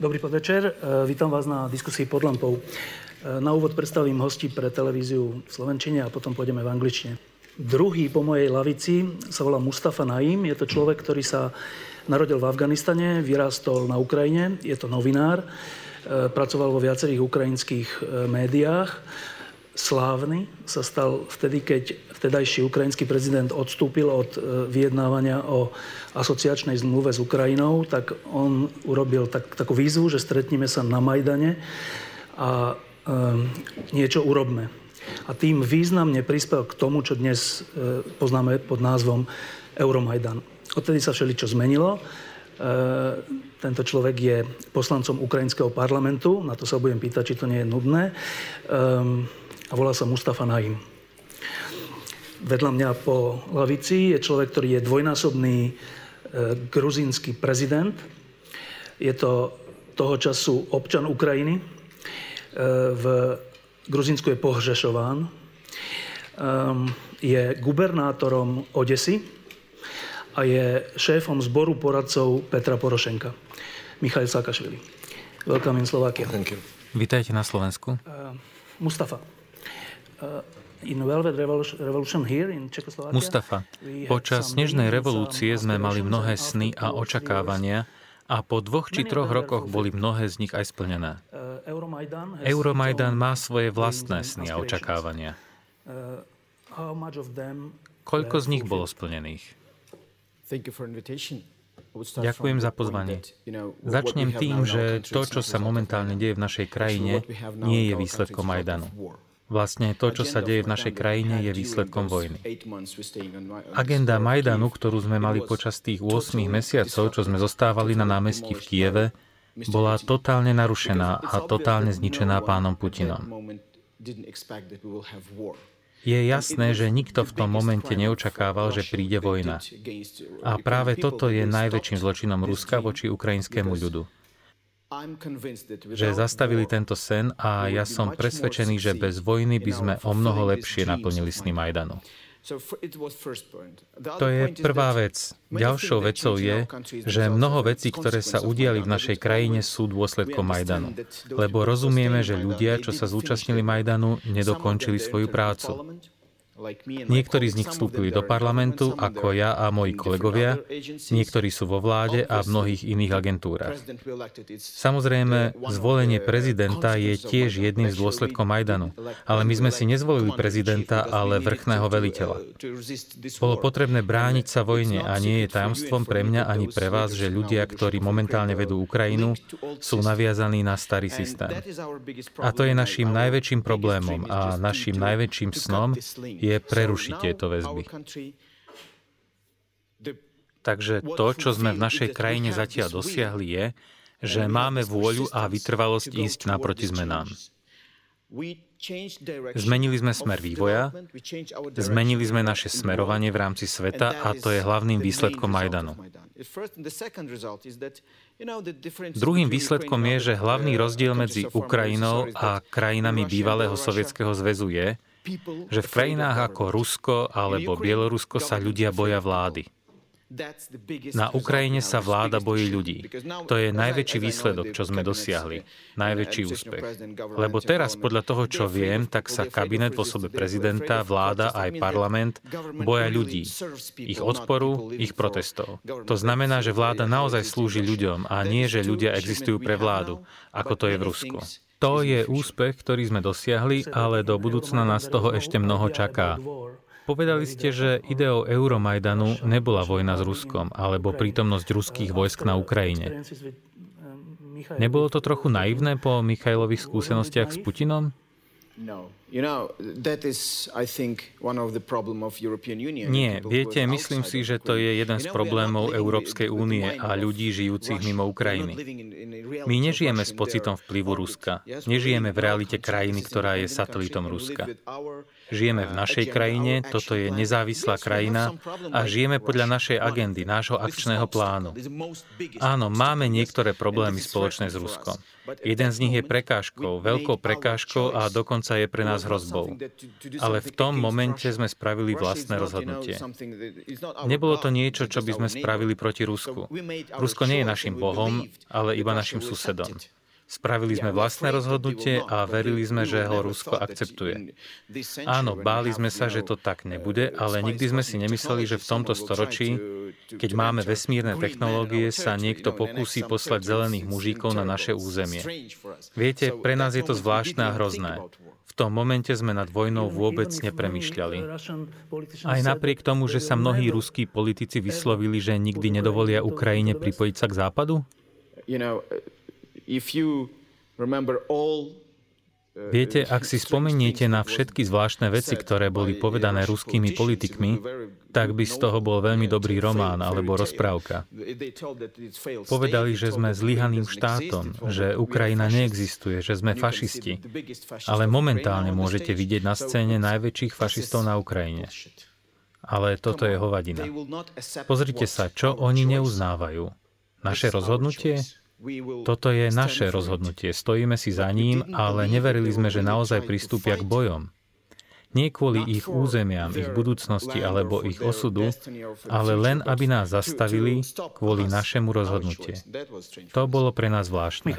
Dobrý podvečer. Vítam vás na diskusii pod lampou. Na úvod predstavím hostí pre televíziu v slovenčine a potom pôjdeme v angličtine. Druhý po mojej lavici sa volá Mustafa Naím. Je to človek, ktorý sa narodil v Afganistane, vyrástol na Ukrajine. Je to novinár. Pracoval vo viacerých ukrajinských médiách. Slávny sa stal vtedy, keď vtedajší ukrajinský prezident odstúpil od vyjednávania o asociačnej zmluve s Ukrajinou, tak on urobil takú výzvu, že stretneme sa na Majdane a niečo urobme. A tým významne prispel k tomu, čo dnes poznáme pod názvom Euromajdan. Odtedy sa všeličo zmenilo. Tento človek je poslancom ukrajinského parlamentu, na to sa budem pýtať, či to nie je nudné. A volá sa Mustafa Naím. Vedľa mňa po lavici je človek, ktorý je dvojnásobný gruzínsky prezident. Je to toho času občan Ukrajiny. V Gruzínsku je pohřešován. Je gubernátorom Odesy a je šéfom zboru poradcov Petra Porošenka. Michail Saakašvili. Welcome in Slovakia. Vítajte na Slovensku. Mustafa. Mustafa, počas Snežnej revolúcie sme mali mnohé sny a očakávania a po 2 či 3 rokoch boli mnohé z nich aj splnené. Euromajdan má svoje vlastné sny a očakávania. Koľko z nich bolo splnených? Ďakujem za pozvanie. Začnem tým, že to, čo sa momentálne deje v našej krajine, nie je výsledkom Majdanu. Vlastne to, čo sa deje v našej krajine, je výsledkom vojny. Agenda Majdanu, ktorú sme mali počas tých 8 mesiacov, čo sme zostávali na námestí v Kieve, bola totálne narušená a totálne zničená pánom Putinom. Je jasné, že nikto v tom momente neočakával, že príde vojna. A práve toto je najväčším zločinom Ruska voči ukrajinskému ľudu. Že zastavili tento sen a ja som presvedčený, že bez vojny by sme o mnoho lepšie naplnili sny Majdanu. To je prvá vec. Ďalšou vecou je, že mnoho vecí, ktoré sa udiali v našej krajine, sú dôsledkom Majdanu. Lebo rozumieme, že ľudia, čo sa zúčastnili Majdanu, nedokončili svoju prácu. Niektorí z nich vstúpili do parlamentu, ako ja a moji kolegovia, niektorí sú vo vláde a v mnohých iných agentúrach. Samozrejme, zvolenie prezidenta je tiež jedným z dôsledkov Majdanu, ale my sme si nezvolili prezidenta, ale vrchného veliteľa. Bolo potrebné brániť sa vojne a nie je tajomstvom pre mňa ani pre vás, že ľudia, ktorí momentálne vedú Ukrajinu, sú naviazaní na starý systém. A to je naším najväčším problémom a naším najväčším snom je prerušiť tieto väzby. Takže to, čo sme v našej krajine zatiaľ dosiahli, je, že máme vôľu a vytrvalosť ísť naproti zmenám. Zmenili sme smer vývoja, zmenili sme naše smerovanie v rámci sveta a to je hlavným výsledkom Majdanu. Druhým výsledkom je, že hlavný rozdiel medzi Ukrajinou a krajinami bývalého Sovietskeho zväzu je, že v krajinách ako Rusko alebo Bielorusko sa ľudia boja vlády. Na Ukrajine sa vláda bojí ľudí. To je najväčší výsledok, čo sme dosiahli. Najväčší úspech. Lebo teraz, podľa toho, čo viem, tak sa kabinet v osobe prezidenta, vláda aj parlament boja ľudí. Ich odporu, ich protestov. To znamená, že vláda naozaj slúži ľuďom a nie, že ľudia existujú pre vládu, ako to je v Rusku. To je úspech, ktorý sme dosiahli, ale do budúcna nás toho ešte mnoho čaká. Povedali ste, že ideou Euromajdanu nebola vojna s Ruskom, alebo prítomnosť ruských vojsk na Ukrajine. Nebolo to trochu naivné po Michailových skúsenostiach s Putinom? Nie, viete, myslím si, že to je jeden z problémov Európskej únie a ľudí žijúcich mimo Ukrajiny. My nežijeme s pocitom vplyvu Ruska. Nežijeme v realite krajiny, ktorá je satelitom Ruska. Žijeme v našej krajine, toto je nezávislá krajina a žijeme podľa našej agendy, nášho akčného plánu. Áno, máme niektoré problémy spoločné s Ruskom. Jeden z nich je prekážkou, veľkou prekážkou a dokonca je pre nás s hrozbou. Ale v tom momente sme spravili vlastné rozhodnutie. Nebolo to niečo, čo by sme spravili proti Rusku. Rusko nie je našim bohom, ale iba našim susedom. Spravili sme vlastné rozhodnutie a verili sme, že ho Rusko akceptuje. Áno, báli sme sa, že to tak nebude, ale nikdy sme si nemysleli, že v tomto storočí, keď máme vesmírne technológie, sa niekto pokúsi poslať zelených mužíkov na naše územie. Viete, pre nás je to zvláštne a hrozné. V tom momente sme nad vojnou vôbec nepremýšľali. Aj napriek tomu, že sa mnohí ruskí politici vyslovili, že nikdy nedovolia Ukrajine pripojiť sa k Západu? Viete, ak si spomeniete na všetky zvláštne veci, ktoré boli povedané ruskými politikmi, tak by z toho bol veľmi dobrý román alebo rozprávka. Povedali, že sme zlyhaným štátom, že Ukrajina neexistuje, že sme fašisti. Ale momentálne môžete vidieť na scéne najväčších fašistov na Ukrajine. Ale toto je hovadina. Pozrite sa, čo oni neuznávajú. Naše rozhodnutie? Toto je naše rozhodnutie. Stojíme si za ním, ale neverili sme, že naozaj pristúpia k bojom. Nie kvôli ich územiam, ich budúcnosti alebo ich osudu, ale len aby nás zastavili kvôli našemu rozhodnutiu. To bolo pre nás zvláštne.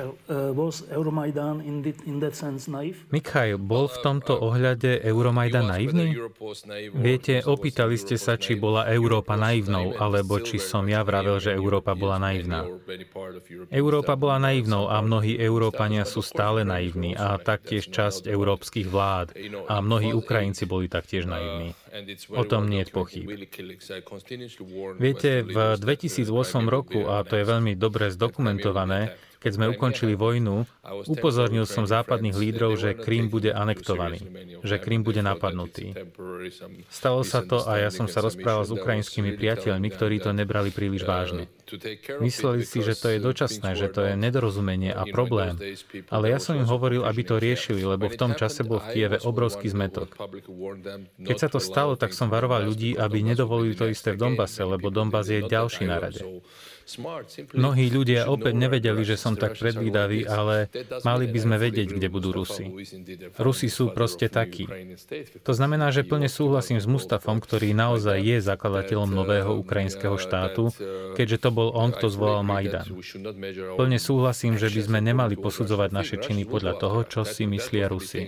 Michail, bol v tomto ohľade Euromajdan naivný? Viete, opýtali ste sa, či bola Európa naivnou, alebo či som ja vravel, že Európa bola naivná. Európa bola naivnou a mnohí Európania sú stále naivní a taktiež časť európskych vlád a mnohí Ukrajinci boli taktiež naivní. O tom nie je pochyb. Viete, v 2008 roku, a to je veľmi dobre zdokumentované, keď sme ukončili vojnu, upozornil som západných lídrov, že Krym bude anektovaný, že Krym bude napadnutý. Stalo sa to a ja som sa rozprával s ukrajinskými priateľmi, ktorí to nebrali príliš vážne. Mysleli si, že to je dočasné, že to je nedorozumenie a problém, ale ja som im hovoril, aby to riešili, lebo v tom čase bol v Kieve obrovský zmätok. Keď sa to stalo, tak som varoval ľudí, aby nedovolili to isté v Donbase, lebo Donbas je ďalší na rade. Mnohí ľudia opäť nevedeli, že som tak predvídavý, ale mali by sme vedieť, kde budú Rusi. Rusi sú proste takí. To znamená, že plne súhlasím s Mustafom, ktorý naozaj je zakladateľom nového ukrajinského štátu, keďže to bol on, kto zvolal Majdan. Plne súhlasím, že by sme nemali posudzovať naše činy podľa toho, čo si myslia Rusi.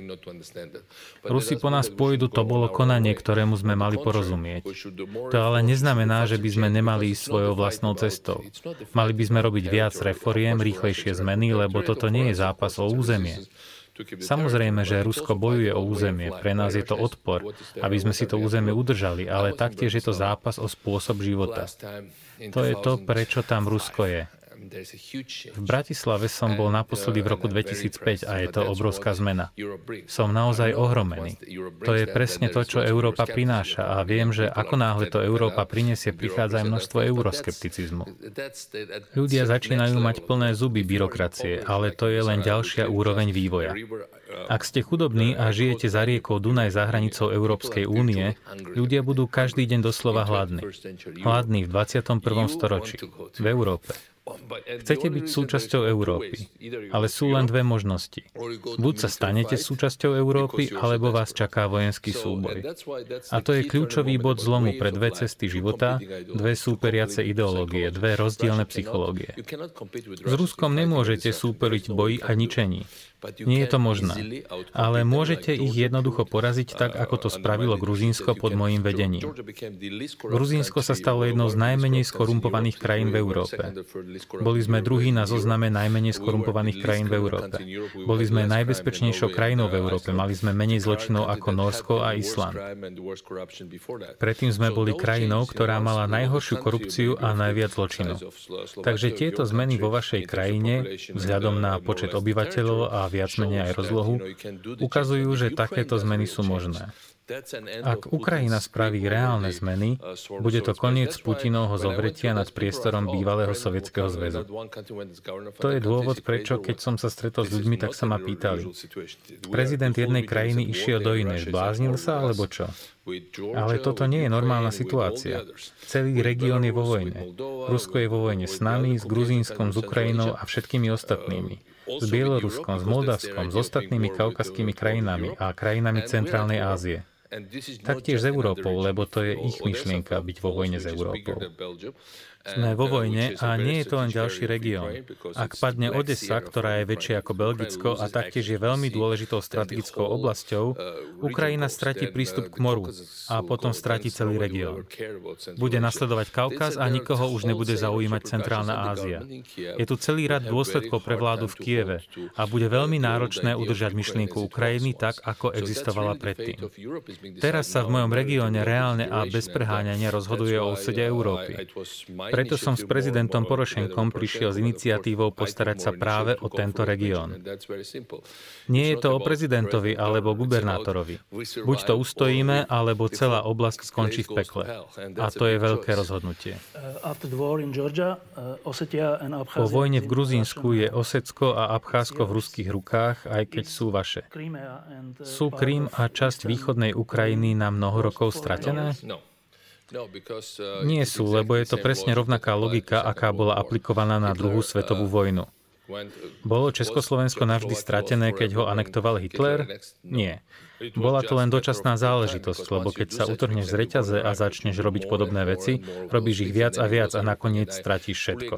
Rusi po nás pôjdu, to bolo konanie, ktorému sme mali porozumieť. To ale neznamená, že by sme nemali ísť svojou vlastnou cestou. Mali by sme robiť viac reforiem, rýchlejšie zmeny, lebo toto nie je zápas o územie. Samozrejme, že Rusko bojuje o územie. Pre nás je to odpor, aby sme si to územie udržali, ale taktiež je to zápas o spôsob života. To je to, prečo tam Rusko je. V Bratislave som bol naposledy v roku 2005 a je to obrovská zmena. Som naozaj ohromený. To je presne to, čo Európa prináša a viem, že ako náhle to Európa prinesie, prichádza aj množstvo euroskepticizmu. Ľudia začínajú mať plné zuby byrokracie, ale to je len ďalšia úroveň vývoja. Ak ste chudobní a žijete za riekou Dunaj za hranicou Európskej únie, ľudia budú každý deň doslova hladní. Hladní v 21. storočí, v Európe. Chcete byť súčasťou Európy, ale sú len dve možnosti. Buď sa stanete súčasťou Európy, alebo vás čaká vojenský súboj. A to je kľúčový bod zlomu pre dve cesty života, dve súperiace ideológie, dve rozdielne psychológie. S Ruskom nemôžete súperiť boji a ničení. Nie je to možné. Ale môžete ich jednoducho poraziť tak, ako to spravilo Gruzínsko pod mojím vedením. Gruzínsko sa stalo jednou z najmenej skorumpovaných krajín v Európe. Boli sme druhí na zozname najmenej skorumpovaných krajín v Európe. Boli sme najbezpečnejšou krajinou v Európe. Mali sme menej zločinov ako Nórsko a Island. Predtým sme boli krajinou, ktorá mala najhoršiu korupciu a najviac zločinov. Takže tieto zmeny vo vašej krajine, vzhľadom na počet obyvateľov a viac menej aj rozlohu, ukazujú, že takéto zmeny sú možné. Ak Ukrajina spraví reálne zmeny, bude to koniec Putinovho zovretia nad priestorom bývalého Sovietskeho zväzu. To je dôvod, prečo, keď som sa stretol s ľuďmi, tak sa ma pýtali. Prezident jednej krajiny išiel do inej. Bláznil sa, alebo čo? Ale toto nie je normálna situácia. Celý región je vo vojne. Rusko je vo vojne s nami, s Gruzínskom, s Ukrajinou a všetkými ostatnými. s Bieloruskom, s Moldavskom, s ostatnými kaukazskými krajinami a krajinami Centrálnej Ázie. Taktiež s Európou, lebo to je ich myšlienka byť vo vojne s Európou. Sme vo vojne a nie je to len ďalší región. Ak padne Odesa, ktorá je väčšia ako Belgicko a taktiež je veľmi dôležitou strategickou oblasťou, Ukrajina stratí prístup k moru a potom stratí celý región. Bude nasledovať Kaukaz a nikoho už nebude zaujímať Centrálna Ázia. Je tu celý rad dôsledkov pre vládu v Kieve a bude veľmi náročné udržať myšlienku Ukrajiny tak, ako existovala predtým. Teraz sa v mojom regióne reálne a bez preháňania rozhoduje o osude Európy. Preto som s prezidentom Porošenkom prišiel s iniciatívou postarať sa práve o tento región. Nie je to o prezidentovi alebo gubernátorovi. Buď to ustojíme, alebo celá oblasť skončí v pekle. A to je veľké rozhodnutie. Po vojne v Gruzínsku je Osecko a Abcházsko v ruských rukách, aj keď sú vaše. Sú Krym a časť východnej Ukrajiny na mnoho rokov stratené? Nie sú, lebo je to presne rovnaká logika, aká bola aplikovaná na druhú svetovú vojnu. Bolo Československo navždy stratené, keď ho anektoval Hitler? Nie. Bola to len dočasná záležitosť, lebo keď sa utrhneš z reťaze a začneš robiť podobné veci, robíš ich viac a viac a nakoniec stratíš všetko.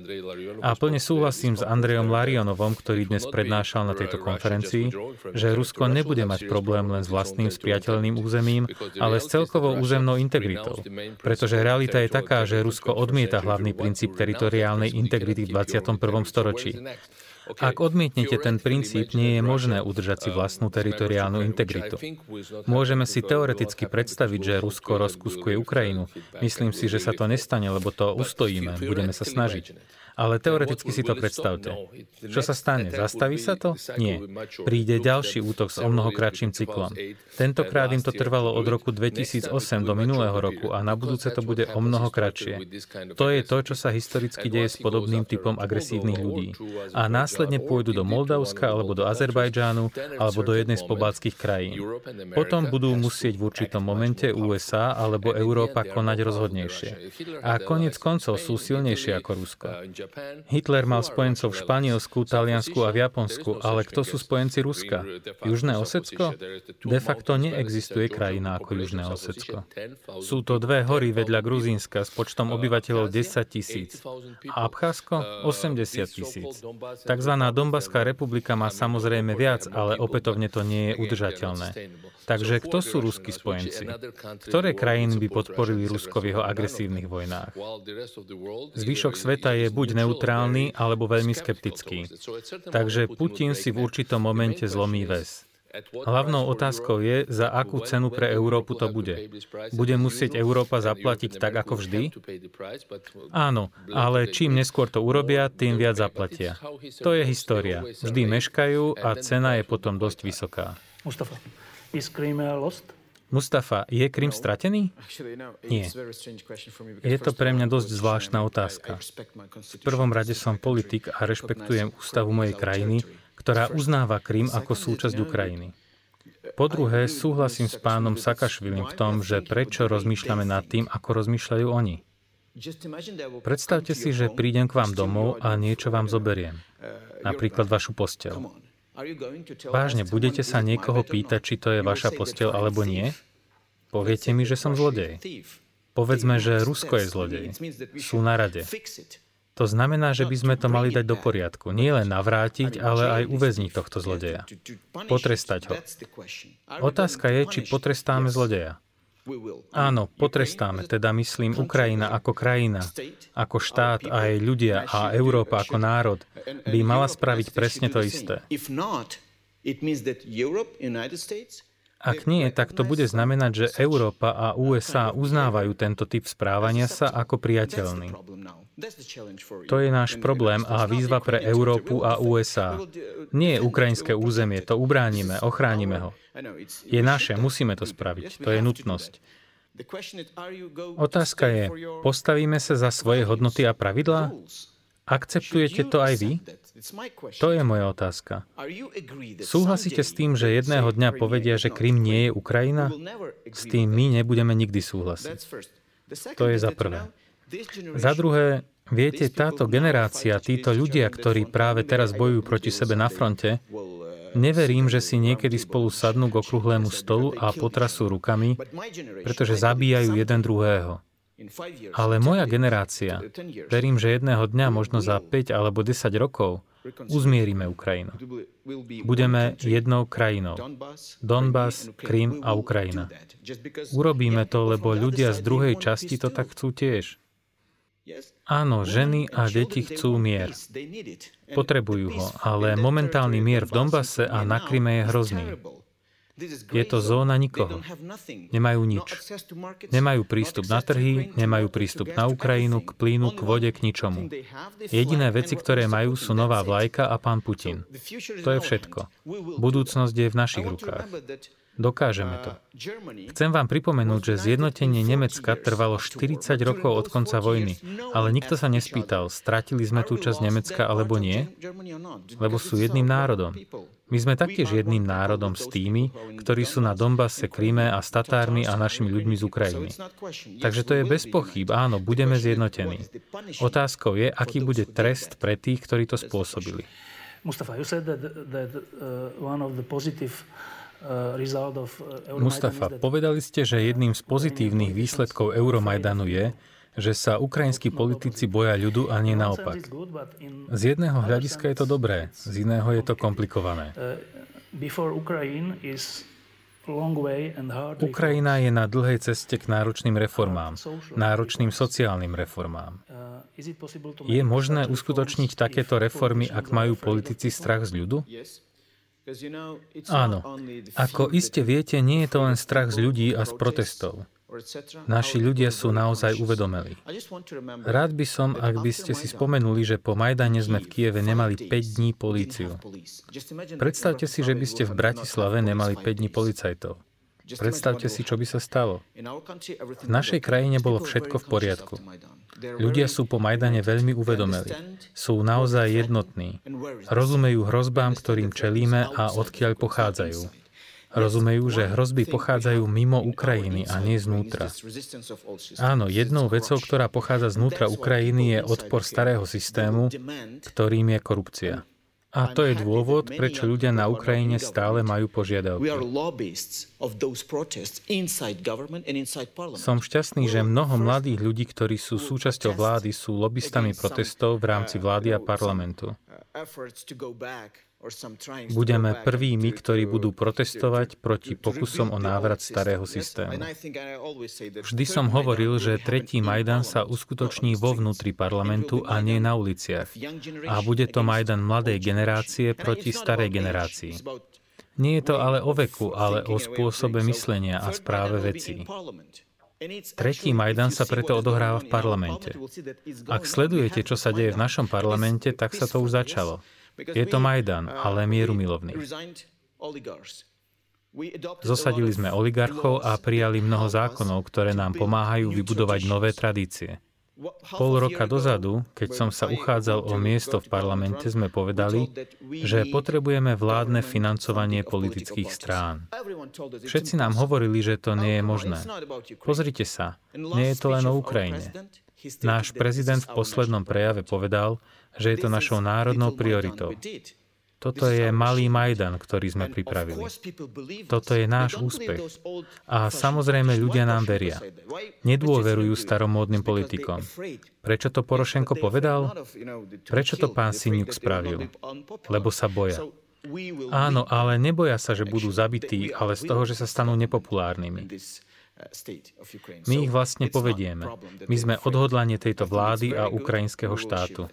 A plne súhlasím s Andrejom Larionovom, ktorý dnes prednášal na tejto konferencii, že Rusko nebude mať problém len s vlastným spriateľným územím, ale s celkovou územnou integritou. Pretože realita je taká, že Rusko odmieta hlavný princíp teritoriálnej integrity v 21. storočí. Ak odmietnete ten princíp, nie je možné udržať si vlastnú teritoriálnu integritu. Môžeme si teoreticky predstaviť, že Rusko rozkuskuje Ukrajinu. Myslím si, že sa to nestane, lebo to ustojíme, budeme sa snažiť. Ale teoreticky si to predstavte. Čo sa stane? Zastaví sa to? Nie. Príde ďalší útok s omnoho kratším cyklom. Tentokrát im to trvalo od roku 2008 do minulého roku a na budúce to bude omnoho kratšie. To je to, čo sa historicky deje s podobným typom agresívnych ľudí. A následne pôjdu do Moldavska alebo do Azerbajdžánu alebo do jednej z pobaltských krajín. Potom budú musieť v určitom momente USA alebo Európa konať rozhodnejšie. A koniec koncov sú silnejšie ako Rusko. Hitler mal spojencov v Španielsku, Taliansku a v Japonsku, ale kto sú spojenci Ruska? Južné Osecko? De facto neexistuje krajina ako Južné Osecko. Sú to dve hory vedľa Gruzínska s počtom obyvateľov 10 000. A Abcházsko 80 000. Takzvaná Donbaská republika má samozrejme viac, ale opätovne to nie je udržateľné. Takže kto sú ruskí spojenci? Ktoré krajiny by podporili Rusko v jeho agresívnych vojnách? Zvyšok sveta je buď neutrálny, alebo veľmi skeptický. Takže Putin si v určitom momente zlomí väz. Hlavnou otázkou je, za akú cenu pre Európu to bude. Bude musieť Európa zaplatiť tak, ako vždy? Áno, ale čím neskôr to urobia, tým viac zaplatia. To je história. Vždy meškajú a cena je potom dosť vysoká. Mustafa, is Crimea lost? Mustafa, je Krym stratený? Nie. Je to pre mňa dosť zvláštna otázka. V prvom rade som politik a rešpektujem ústavu mojej krajiny, ktorá uznáva Krym ako súčasť Ukrajiny. Po druhé, súhlasím s pánom Saakašvilim v tom, že prečo rozmýšľame nad tým, ako rozmýšľajú oni. Predstavte si, že prídem k vám domov a niečo vám zoberiem. Napríklad vašu posteľ. Vážne, budete sa niekoho pýtať, či to je vaša posteľ alebo nie? Poviete mi, že som zlodej. Povedzme, že Rusko je zlodej. Sú na rade. To znamená, že by sme to mali dať do poriadku. Nie len navrátiť, ale aj uväzniť tohto zlodeja. Potrestať ho. Otázka je, či potrestáme zlodeja. Áno, potrestáme, teda myslím Ukrajina ako krajina, ako štát a aj ľudia a Európa ako národ by mala spraviť presne to isté. Ak nie, tak to bude znamenať, že Európa a USA uznávajú tento typ správania sa ako priateľný. To je náš problém a výzva pre Európu a USA. Nie je ukrajinské územie, to ubránime, ochránime ho. Je naše, musíme to spraviť, to je nutnosť. Otázka je, postavíme sa za svoje hodnoty a pravidlá? Akceptujete to aj vy? To je moja otázka. Súhlasíte s tým, že jedného dňa povedia, že Krym nie je Ukrajina? S tým my nebudeme nikdy súhlasiť. To je za prvé. Za druhé, viete, táto generácia, títo ľudia, ktorí práve teraz bojujú proti sebe na fronte, neverím, že si niekedy spolu sadnú k okrúhlemu stolu a potrasú rukami, pretože zabíjajú jeden druhého. Ale moja generácia, verím, že jedného dňa, možno za 5 alebo 10 rokov, uzmierime Ukrajinu. Budeme jednou krajinou. Donbas, Krym a Ukrajina. Urobíme to, lebo ľudia z druhej časti to tak chcú tiež. Áno, ženy a deti chcú mier. Potrebujú ho, ale momentálny mier v Donbase a na Kryme je hrozný. Je to zóna nikoho. Nemajú nič. Nemajú prístup na trhy, nemajú prístup na Ukrajinu, k plynu, k vode, k ničomu. Jediné veci, ktoré majú, sú nová vlajka a pán Putin. To je všetko. Budúcnosť je v našich rukách. Dokážeme to. Chcem vám pripomenúť, že zjednotenie Nemecka trvalo 40 rokov od konca vojny, ale nikto sa nespýtal, stratili sme tú časť Nemecka alebo nie, lebo sú jedným národom. My sme taktiež jedným národom s tými, ktorí sú na Donbase, Kryme a s Tatármi a našimi ľuďmi z Ukrajiny. Takže to je bez pochýb, áno, budeme zjednotení. Otázkou je, aký bude trest pre tých, ktorí to spôsobili. Mustafa, you said that one of the positive Mustafa, povedali ste, že jedným z pozitívnych výsledkov Euromajdanu je, že sa ukrajinskí politici boja ľudu a nie naopak. Z jedného hľadiska je to dobré, z iného je to komplikované. Ukrajina je na dlhej ceste k náročným reformám, náročným sociálnym reformám. Je možné uskutočniť takéto reformy, ak majú politici strach z ľudu? Áno. Ako iste viete, nie je to len strach z ľudí a z protestov. Naši ľudia sú naozaj uvedomelí. Rád by som, ak by ste si spomenuli, že po Majdane sme v Kieve nemali 5 dní políciu. Predstavte si, že by ste v Bratislave nemali 5 dní policajtov. Predstavte si, čo by sa stalo. V našej krajine bolo všetko v poriadku. Ľudia sú po Majdane veľmi uvedomelí. Sú naozaj jednotní. Rozumejú hrozbám, ktorým čelíme a odkiaľ pochádzajú. Rozumejú, že hrozby pochádzajú mimo Ukrajiny a nie znútra. Áno, jednou vecou, ktorá pochádza znútra Ukrajiny, je odpor starého systému, ktorým je korupcia. A to je dôvod, prečo ľudia na Ukrajine stále majú požiadavky. Som šťastný, že mnoho mladých ľudí, ktorí sú súčasťou vlády, sú lobistami protestov v rámci vlády a parlamentu. Budeme prvými, ktorí budú protestovať proti pokusom o návrat starého systému. Vždy som hovoril, že tretí Majdan sa uskutoční vo vnútri parlamentu a nie na uliciach. A bude to Majdan mladej generácie proti starej generácii. Nie je to ale o veku, ale o spôsobe myslenia a správe vecí. Tretí Majdan sa preto odohráva v parlamente. Ak sledujete, čo sa deje v našom parlamente, tak sa to už začalo. Je to Majdan, ale mierumilovný. Zosadili sme oligarchov a prijali mnoho zákonov, ktoré nám pomáhajú vybudovať nové tradície. Pol roka dozadu, keď som sa uchádzal o miesto v parlamente, sme povedali, že potrebujeme vládne financovanie politických strán. Všetci nám hovorili, že to nie je možné. Pozrite sa, nie je to len o Ukrajine. Náš prezident v poslednom prejave povedal, že je to našou národnou prioritou. Toto je malý Majdan, ktorý sme pripravili. Toto je náš úspech. A samozrejme ľudia nám veria. Nedôverujú staromódnym politikom. Prečo to Porošenko povedal? Prečo to pán Syniuk spravil? Lebo sa boja. Áno, ale neboja sa, že budú zabití, ale z toho, že sa stanú nepopulárnymi. My ich vlastne povedieme. My sme odhodlanie tejto vlády a ukrajinského štátu.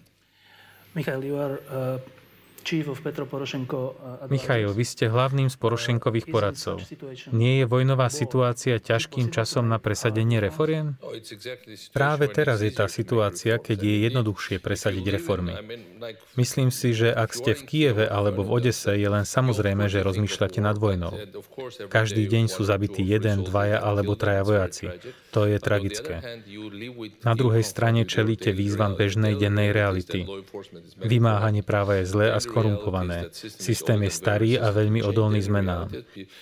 Michail, vy ste hlavným z Porošenkových poradcov. Nie je vojnová situácia ťažkým časom na presadenie reforiem? Práve teraz je tá situácia, keď je jednoduchšie presadiť reformy. Myslím si, že ak ste v Kieve alebo v Odese, je len samozrejme, že rozmýšľate nad vojnou. Každý deň sú zabití 1, 2 alebo 3 vojaci. To je tragické. Na druhej strane čelíte výzvam bežnej dennej reality. Vymáhanie práva je zlé a skorumpované. Systém je starý a veľmi odolný zmenám.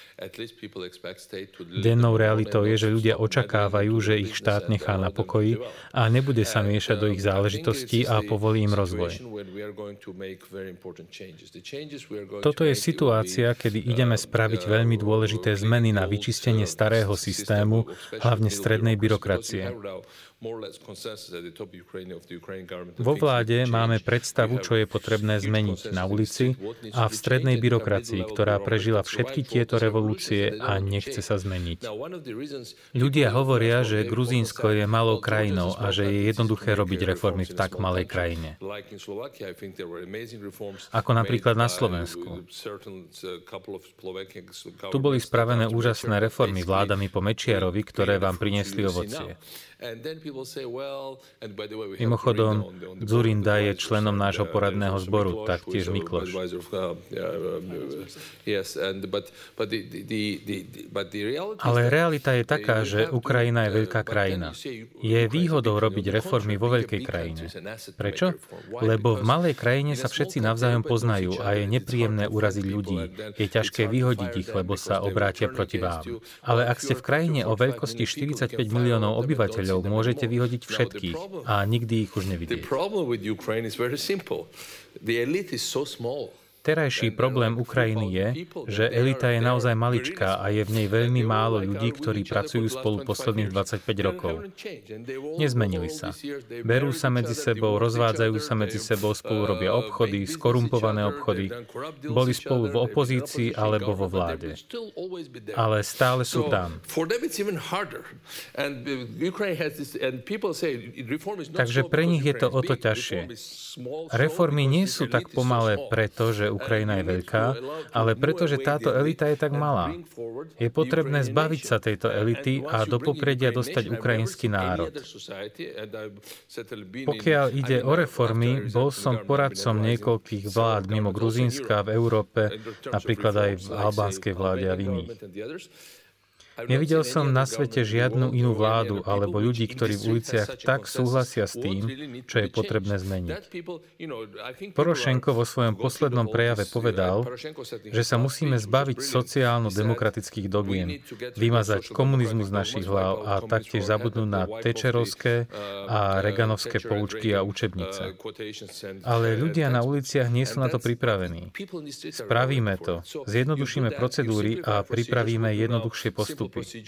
Dennou realitou je, že ľudia očakávajú, že ich štát nechá na pokoji a nebude sa miešať do ich záležitostí a povolí im rozvoj. Toto je situácia, kedy ideme spraviť veľmi dôležité zmeny na vyčistenie starého systému, hlavne strednej byrokracie. Vo vláde máme predstavu, čo je potrebné zmeniť na ulici a v strednej byrokracii, ktorá prežila všetky tieto revolúcie a nechce sa zmeniť. Ľudia hovoria, že Gruzínsko je malou krajinou a že je jednoduché robiť reformy v tak malej krajine. Ako napríklad na Slovensku. Tu boli spravené úžasné reformy vládami po Mečiarovi, ktoré vám priniesli ovocie. Mimochodom, Dzurinda je členom nášho poradného zboru, taktiež Mikloš. Ale realita je taká, že Ukrajina je veľká krajina. Je výhodou robiť reformy vo veľkej krajine. Prečo? Lebo v malej krajine sa všetci navzájom poznajú a je nepríjemné uraziť ľudí. Je ťažké vyhodiť ich, lebo sa obrátia proti vám. Ale ak ste v krajine o veľkosti 45 miliónov obyvateľov, môžete vyhodiť všetkých a nikdy ich už nevidieť. Terajší problém Ukrajiny je, že elita je naozaj maličká a je v nej veľmi málo ľudí, ktorí pracujú spolu posledných 25 rokov. Nezmenili sa. Berú sa medzi sebou, rozvádzajú sa medzi sebou, spolu robia obchody, skorumpované obchody. Boli spolu v opozícii alebo vo vláde. Ale stále sú tam. Takže pre nich je to o to ťažšie. Reformy nie sú tak pomalé preto, že Ukrajina je veľká, ale pretože táto elita je tak malá. Je potrebné zbaviť sa tejto elity a do popredia dostať ukrajinský národ. Pokiaľ ide o reformy, bol som poradcom niekoľkých vlád mimo Gruzínska v Európe, napríklad aj v albánskej vláde a v iných. Nevidel som na svete žiadnu inú vládu alebo ľudí, ktorí v uliciach tak súhlasia s tým, čo je potrebné zmeniť. Porošenko vo svojom poslednom prejave povedal, že sa musíme zbaviť sociálno-demokratických dogiem, vymazať komunizmus z našich hlav a taktiež zabudnúť na Thatcherovské a Reaganovské poučky a učebnice. Ale ľudia na uliciach nie sú na to pripravení. Spravíme to, zjednodušíme procedúry a pripravíme jednoduchšie postupy.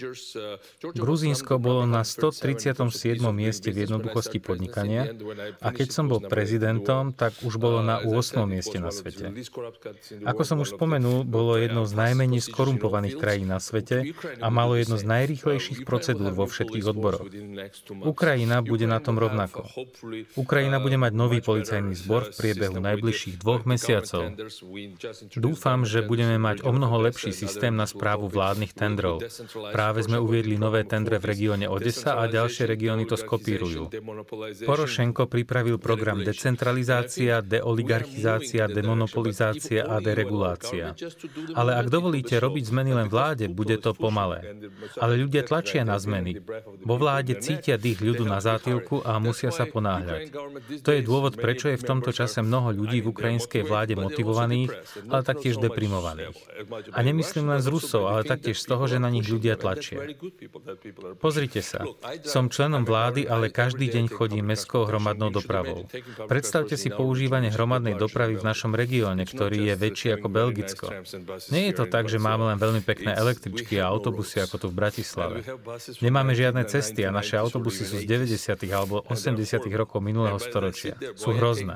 Gruzínsko bolo na 137. mieste v jednoduchosti podnikania a keď som bol prezidentom, tak už bolo na 8. mieste na svete. Ako som už spomenul, bolo jednou z najmenej skorumpovaných krajín na svete a malo jedno z najrýchlejších procedúr vo všetkých odboroch. Ukrajina bude na tom rovnako. Ukrajina bude mať nový policajný zbor v priebehu najbližších 2 mesiacov. Dúfam, že budeme mať omnoho lepší systém na správu vládnych tendrov. Práve sme uviedli nové tendre v regióne Odesa a ďalšie regióny to skopírujú. Porošenko pripravil program decentralizácia, deoligarchizácia, demonopolizácia a deregulácia. Ale ak dovolíte robiť zmeny len vláde, bude to pomalé. Ale ľudia tlačia na zmeny. Vo vláde cítia dých ľudu na zátylku a musia sa ponáhľať. To je dôvod, prečo je v tomto čase mnoho ľudí v ukrajinskej vláde motivovaných, ale taktiež deprimovaných. A nemyslím len z Rusov, ale taktiež z toho, že na nich ľudia tlačia. Pozrite sa, som členom vlády, ale každý deň chodím mestskou hromadnou dopravou. Predstavte si používanie hromadnej dopravy v našom regióne, ktorý je väčší ako Belgicko. Nie je to tak, že máme len veľmi pekné električky a autobusy ako tu v Bratislave. Nemáme žiadne cesty a naše autobusy sú z 90. alebo 80. rokov minulého storočia. Sú hrozné.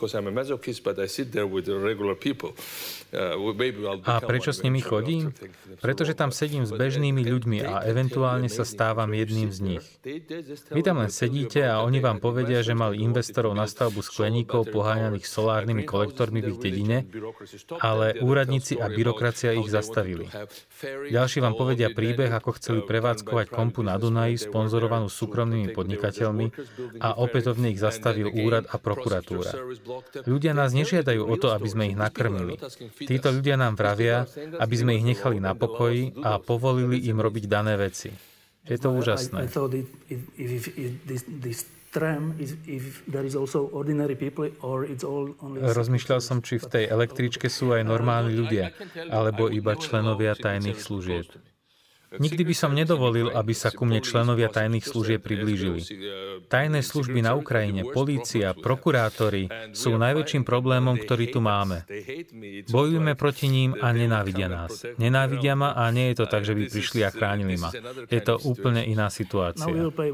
A prečo s nimi chodím? Pretože tam sedím s bežnými ľuďmi a eventuálne sa stávam jedným z nich. Vy tam len sedíte a oni vám povedia, že mali investorov na stavbu skleníkov poháňaných solárnymi kolektormi v ich dedine, ale úradníci a byrokracia ich zastavili. Ďalší vám povedia príbeh, ako chceli prevádzkovať kompu na Dunaji, sponzorovanú súkromnými podnikateľmi a opätovne ich zastavil úrad a prokuratúra. Ľudia nás nežiadajú o to, aby sme ich nakrmili. Títo ľudia nám vravia, aby sme ich nechali na pokoji a povolili im robiť dané veci. Je to úžasné. Rozmýšľal som, či v tej električke sú aj normálni ľudia, alebo iba členovia tajných služieb. Nikdy by som nedovolil, aby sa ku mne členovia tajných služieb priblížili. Tajné služby na Ukrajine, polícia, prokurátori sú najväčším problémom, ktorý tu máme. Bojujeme proti ním a nenávidia nás. Nenávidia ma a nie je to tak, že by prišli a chránili ma. Je to úplne iná situácia.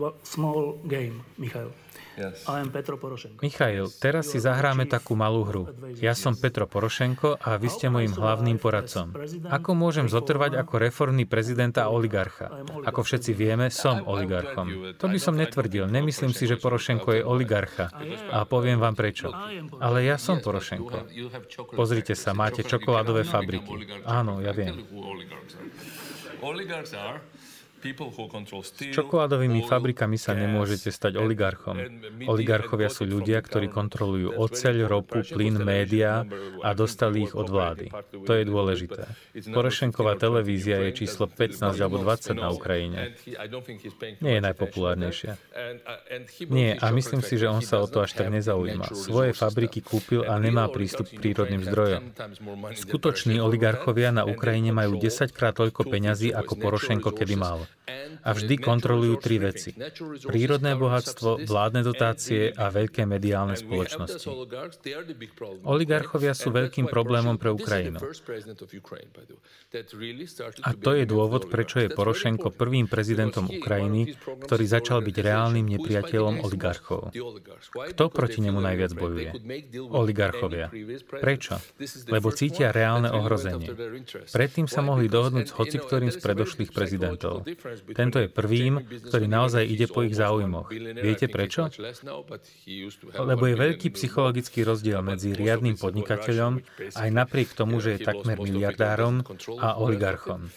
Michail, teraz si zahráme takú malú hru. Ja som Petro Porošenko a vy ste mojím hlavným poradcom. Ako môžem zotrvať ako reformný prezident a oligarcha? Ako všetci vieme, som oligarchom. To by som netvrdil. Nemyslím si, že Porošenko je oligarcha. A poviem vám prečo. Ale ja som Porošenko. Pozrite sa, máte čokoládové fabriky. Áno, ja viem. S čokoládovými fabrikami sa nemôžete stať oligarchom. Oligarchovia sú ľudia, ktorí kontrolujú oceľ, ropu, plyn, médiá a dostali ich od vlády. To je dôležité. Porošenková televízia je číslo 15 alebo 20 na Ukrajine. Nie je najpopulárnejšia. Nie, a myslím si, že on sa o to až tak nezaujíma. Svoje fabriky kúpil a nemá prístup k prírodným zdrojom. Skutoční oligarchovia na Ukrajine majú 10-krát toľko peňazí, ako Porošenko kedy mal. A vždy kontrolujú tri veci. Prírodné bohatstvo, vládne dotácie a veľké mediálne spoločnosti. Oligarchovia sú veľkým problémom pre Ukrajinu. A to je dôvod, prečo je Porošenko prvým prezidentom Ukrajiny, ktorý začal byť reálnym nepriateľom oligarchov. Kto proti nemu najviac bojuje? Oligarchovia. Prečo? Lebo cítia reálne ohrozenie. Predtým sa mohli dohodnúť s hociktorým z predošlých prezidentov. Tento je prvým, ktorý naozaj ide po ich záujmoch. Viete prečo? Lebo je veľký psychologický rozdiel medzi riadnym podnikateľom, aj napriek tomu, že je takmer miliardárom, a oligarchom.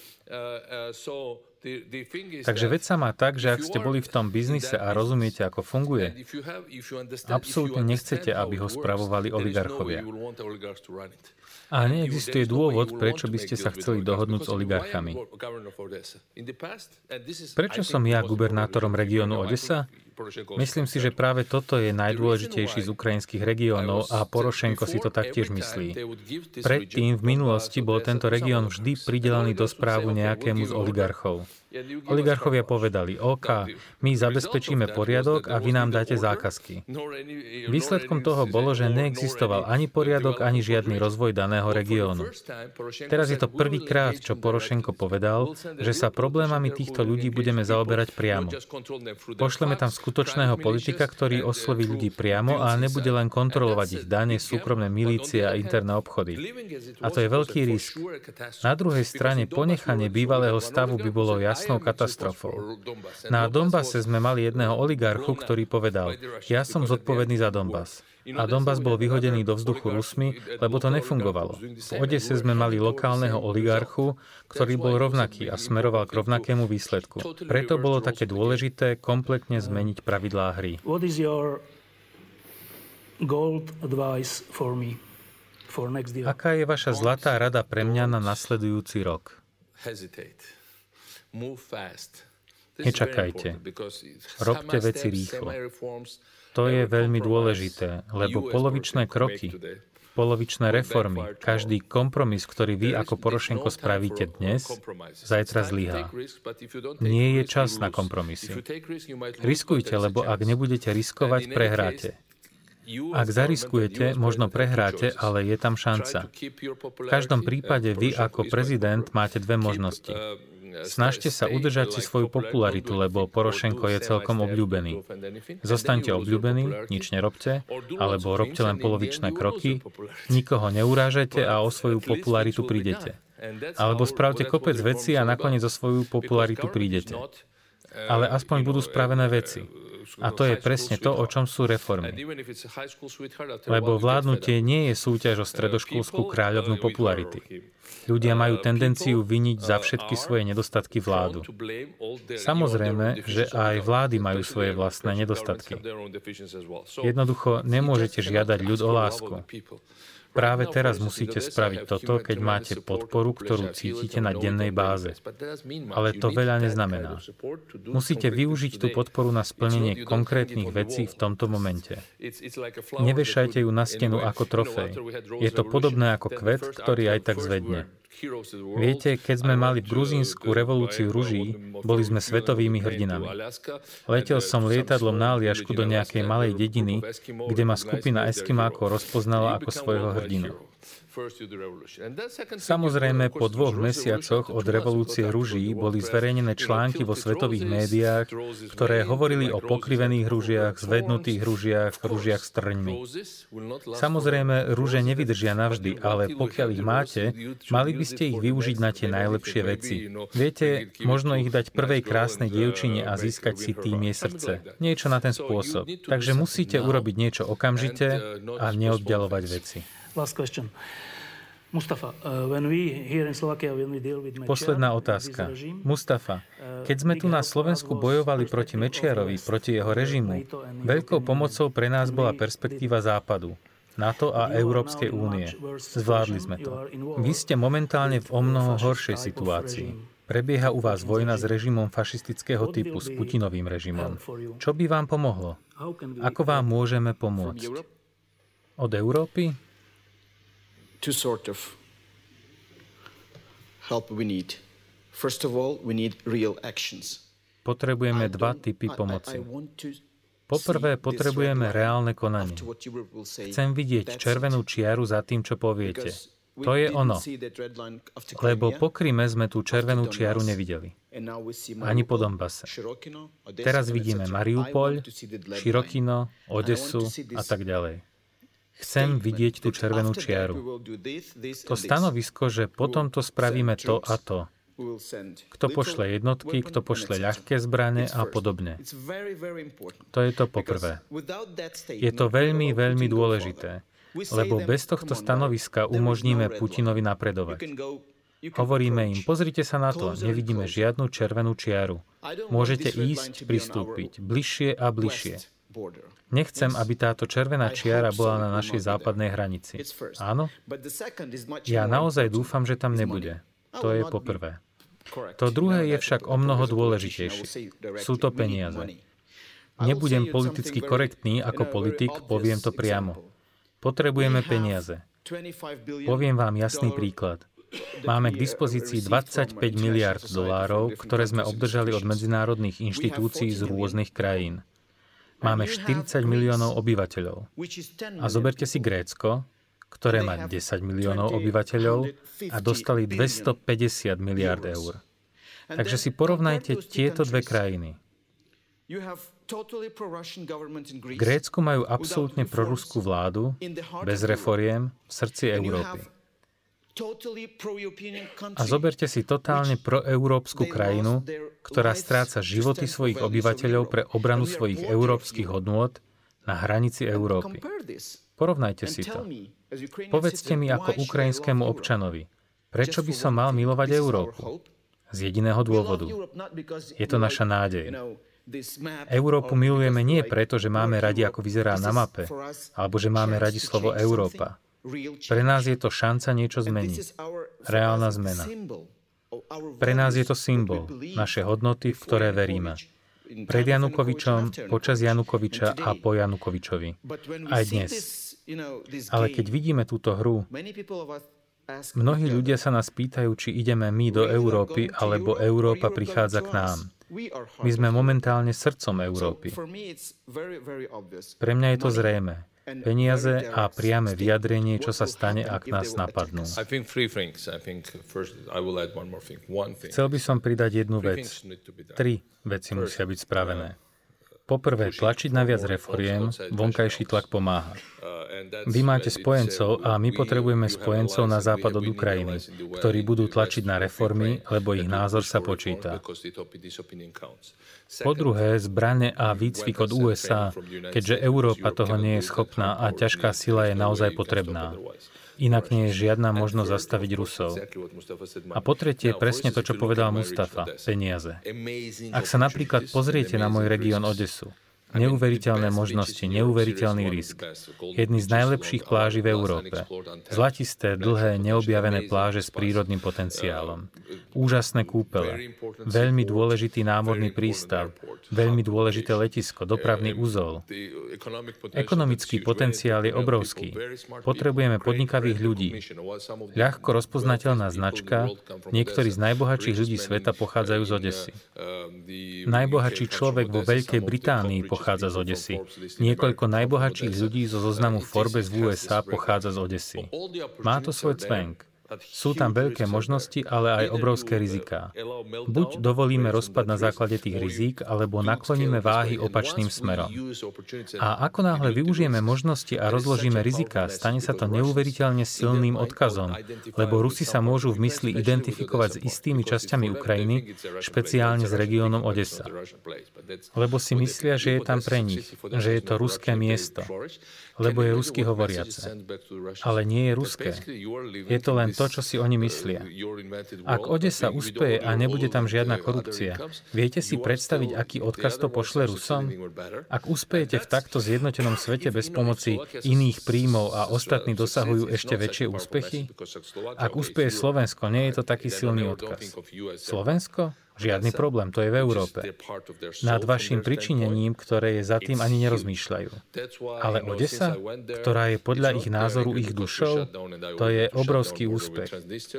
Takže vec sa má tak, že ak ste boli v tom biznise a rozumiete, ako funguje, absolútne nechcete, aby ho spravovali oligarchovia. A neexistuje dôvod, prečo by ste sa chceli dohodnúť s oligarchami. Prečo som ja gubernátorom regiónu Odesa? Myslím si, že práve toto je najdôležitejší z ukrajinských regiónov a Porošenko si to taktiež myslí. Predtým v minulosti bol tento región vždy pridelený do správu nejakému z oligarchov. Oligarchovia povedali, OK, my zabezpečíme poriadok a vy nám dáte zákazky. Výsledkom toho bolo, že neexistoval ani poriadok, ani žiadny rozvoj daného regiónu. Teraz je to prvýkrát, čo Porošenko povedal, že sa problémami týchto ľudí budeme zaoberať priamo. Pošleme tam skutočného politika, ktorý osloví ľudí priamo a nebude len kontrolovať ich dane, súkromné milície a interné obchody. A to je veľký risk. Na druhej strane ponechanie bývalého stavu by bolo jasnou katastrofou. Na Donbase sme mali jedného oligarchu, ktorý povedal, ja som zodpovedný za Donbas. A Donbas bol vyhodený do vzduchu Rusmi, lebo to nefungovalo. V Odese sme mali lokálneho oligarchu, ktorý bol rovnaký a smeroval k rovnakému výsledku. Preto bolo také dôležité kompletne zmeniť pravidlá hry. Aká je vaša zlatá rada pre mňa na nasledujúci rok? Nečakajte. Robte veci rýchlo. To je veľmi dôležité, lebo polovičné kroky, polovičné reformy, každý kompromis, ktorý vy ako Porošenko spravíte dnes, zajtra zlyhá. Nie je čas na kompromisy. Riskujte, lebo ak nebudete riskovať, prehráte. Ak zariskujete, možno prehráte, ale je tam šanca. V každom prípade vy ako prezident máte dve možnosti. Snažte sa udržať si svoju popularitu, lebo Porošenko je celkom obľúbený. Zostaňte obľúbení, nič nerobte, alebo robte len polovičné kroky, nikoho neurážajte a o svoju popularitu prídete. Alebo spravte kopec vecí a nakoniec o svoju popularitu prídete. Ale aspoň budú spravené veci. A to je presne to, o čom sú reformy. Lebo vládnutie nie je súťaž o stredoškolskú kráľovnú popularity. Ľudia majú tendenciu viniť za všetky svoje nedostatky vládu. Samozrejme, že aj vlády majú svoje vlastné nedostatky. Jednoducho nemôžete žiadať ľud o lásku. Práve teraz musíte spraviť toto, keď máte podporu, ktorú cítite na dennej báze. Ale to veľa neznamená. Musíte využiť tú podporu na splnenie konkrétnych vecí v tomto momente. Nevešajte ju na stenu ako trofej. Je to podobné ako kvet, ktorý aj tak zvedne. Viete, keď sme mali v Gruzínsku revolúciu ruží, boli sme svetovými hrdinami. Letel som lietadlom na Aliašku do nejakej malej dediny, kde ma skupina Eskimákov rozpoznala ako svojho hrdinu. Samozrejme, po 2 mesiacoch od revolúcie ruží boli zverejnené články vo svetových médiách, ktoré hovorili o pokrivených ružiach, zvednutých ružiach s trňmi. Samozrejme, ruže nevydržia navždy, ale pokiaľ ich máte, mali by ste ich využiť na tie najlepšie veci. Viete, možno ich dať prvej krásnej dievčine a získať si tým jej srdce. Niečo na ten spôsob. Takže musíte urobiť niečo okamžite a neoddialovať veci. Last question. Mustafa, when we here in Slovakia, when we deal with Mečiar, posledná otázka. Mustafa, keď sme tu na Slovensku bojovali proti Mečiarovi, proti jeho režimu, veľkou pomocou pre nás bola perspektíva Západu, NATO a Európskej únie. Zvládli sme to. Vy ste momentálne v omnoho horšej situácii. Prebieha u vás vojna s režimom fašistického typu, s Putinovým režimom. Čo by vám pomohlo? Ako vám môžeme pomôcť? Od Európy? Two sort of help we need. First of all, we need real actions. Potrebujeme 2 typy pomoci. Poprvé, potrebujeme reálne konanie. Chcem vidieť červenú čiaru za tým, čo poviete. To je ono. Lebo po Kryme sme tú červenú čiaru nevideli. Ani po Donbase. Teraz vidíme Mariupol, Širokino, Odesu a tak ďalej. Chcem vidieť tú červenú čiaru. To stanovisko, že potom to spravíme to a to. Kto pošle jednotky, kto pošle ľahké zbrane a podobne. To je to poprvé. Je to veľmi, veľmi dôležité, lebo bez tohto stanoviska umožníme Putinovi napredovať. Hovoríme im, pozrite sa na to, nevidíme žiadnu červenú čiaru. Môžete ísť, pristúpiť, bližšie a bližšie. Nechcem, aby táto červená čiara bola na našej západnej hranici. Áno? Ja naozaj dúfam, že tam nebude. To je poprvé. To druhé je však omnoho dôležitejšie. Sú to peniaze. Nebudem politicky korektný ako politik, poviem to priamo. Potrebujeme peniaze. Poviem vám jasný príklad. Máme k dispozícii 25 miliárd dolárov, ktoré sme obdržali od medzinárodných inštitúcií z rôznych krajín. Máme 40 miliónov obyvateľov. A zoberte si Grécko, ktoré má 10 miliónov obyvateľov a dostali 250 miliárd eur. Takže si porovnajte tieto 2 krajiny. V Grécku majú absolútne proruskú vládu, bez reforiem, v srdci Európy. A zoberte si totálne proeurópsku krajinu, ktorá stráca životy svojich obyvateľov pre obranu svojich európskych hodnôt na hranici Európy. Porovnajte si to. Povedzte mi ako ukrajinskému občanovi, prečo by som mal milovať Európu? Z jediného dôvodu. Je to naša nádej. Európu milujeme nie preto, že máme radi, ako vyzerá na mape, alebo že máme radi slovo Európa. Pre nás je to šanca niečo zmeniť. Reálna zmena. Pre nás je to symbol, naše hodnoty, v ktoré veríme. Pred Janukovičom, počas Janukoviča a po Janukovičovi. Aj dnes. Ale keď vidíme túto hru, mnohí ľudia sa nás pýtajú, či ideme my do Európy, alebo Európa prichádza k nám. My sme momentálne srdcom Európy. Pre mňa je to zrejmé. Peniaze a priame vyjadrenie, čo sa stane, ak nás napadnú. Chcel by som pridať jednu vec. 3 veci musia byť spravené. Poprvé, tlačiť na viac reforiem, vonkajší tlak pomáha. Vy máte spojencov a my potrebujeme spojencov na západ od Ukrajiny, ktorí budú tlačiť na reformy, lebo ich názor sa počíta. Po druhé, zbrane a výcvik od USA, keďže Európa toho nie je schopná a ťažká sila je naozaj potrebná. Inak nie je žiadna možnosť zastaviť Rusov. A po tretie, presne to, čo povedal Mustafa, peniaze. Ak sa napríklad pozriete na môj región Odesu, Neuveriteľné možnosti, neuveriteľný risk. Jedny z najlepších pláží v Európe. Zlatisté, dlhé, neobjavené pláže s prírodným potenciálom. Úžasné kúpele. Veľmi dôležitý námorný prístav. Veľmi dôležité letisko, dopravný uzol. Ekonomický potenciál je obrovský. Potrebujeme podnikavých ľudí. Ľahko rozpoznateľná značka. Niektorí z najbohatších ľudí sveta pochádzajú z Odesy. Najbohatší človek vo Veľkej Británii pochádza z Odesy. Niekoľko najbohatších ľudí zo zoznamu Forbes v USA pochádza z Odesy. Má to svoj cvenk. Sú tam veľké možnosti, ale aj obrovské riziká. Buď dovolíme rozpad na základe tých rizík, alebo nakloníme váhy opačným smerom. A ako náhle využijeme možnosti a rozložíme riziká, stane sa to neuveriteľne silným odkazom, lebo Rusi sa môžu v mysli identifikovať s istými časťami Ukrajiny, špeciálne s regiónom Odesa. Lebo si myslia, že je tam pre nich, že je to ruské miesto, lebo je rusky hovoriace. Ale nie je ruské. Je to len to, čo si oni myslia. Ak Odesa uspeje a nebude tam žiadna korupcia, viete si predstaviť, aký odkaz to pošle Rusom? Ak uspejete v takto zjednotenom svete bez pomoci iných príjmov a ostatní dosahujú ešte väčšie úspechy? Ak uspeje Slovensko, nie je to taký silný odkaz. Slovensko? Žiadny problém, to je v Európe. Nad vašim pričinením, ktoré je za tým, ani nerozmýšľajú. Ale Odesa, ktorá je podľa ich názoru ich dušou, to je obrovský úspech.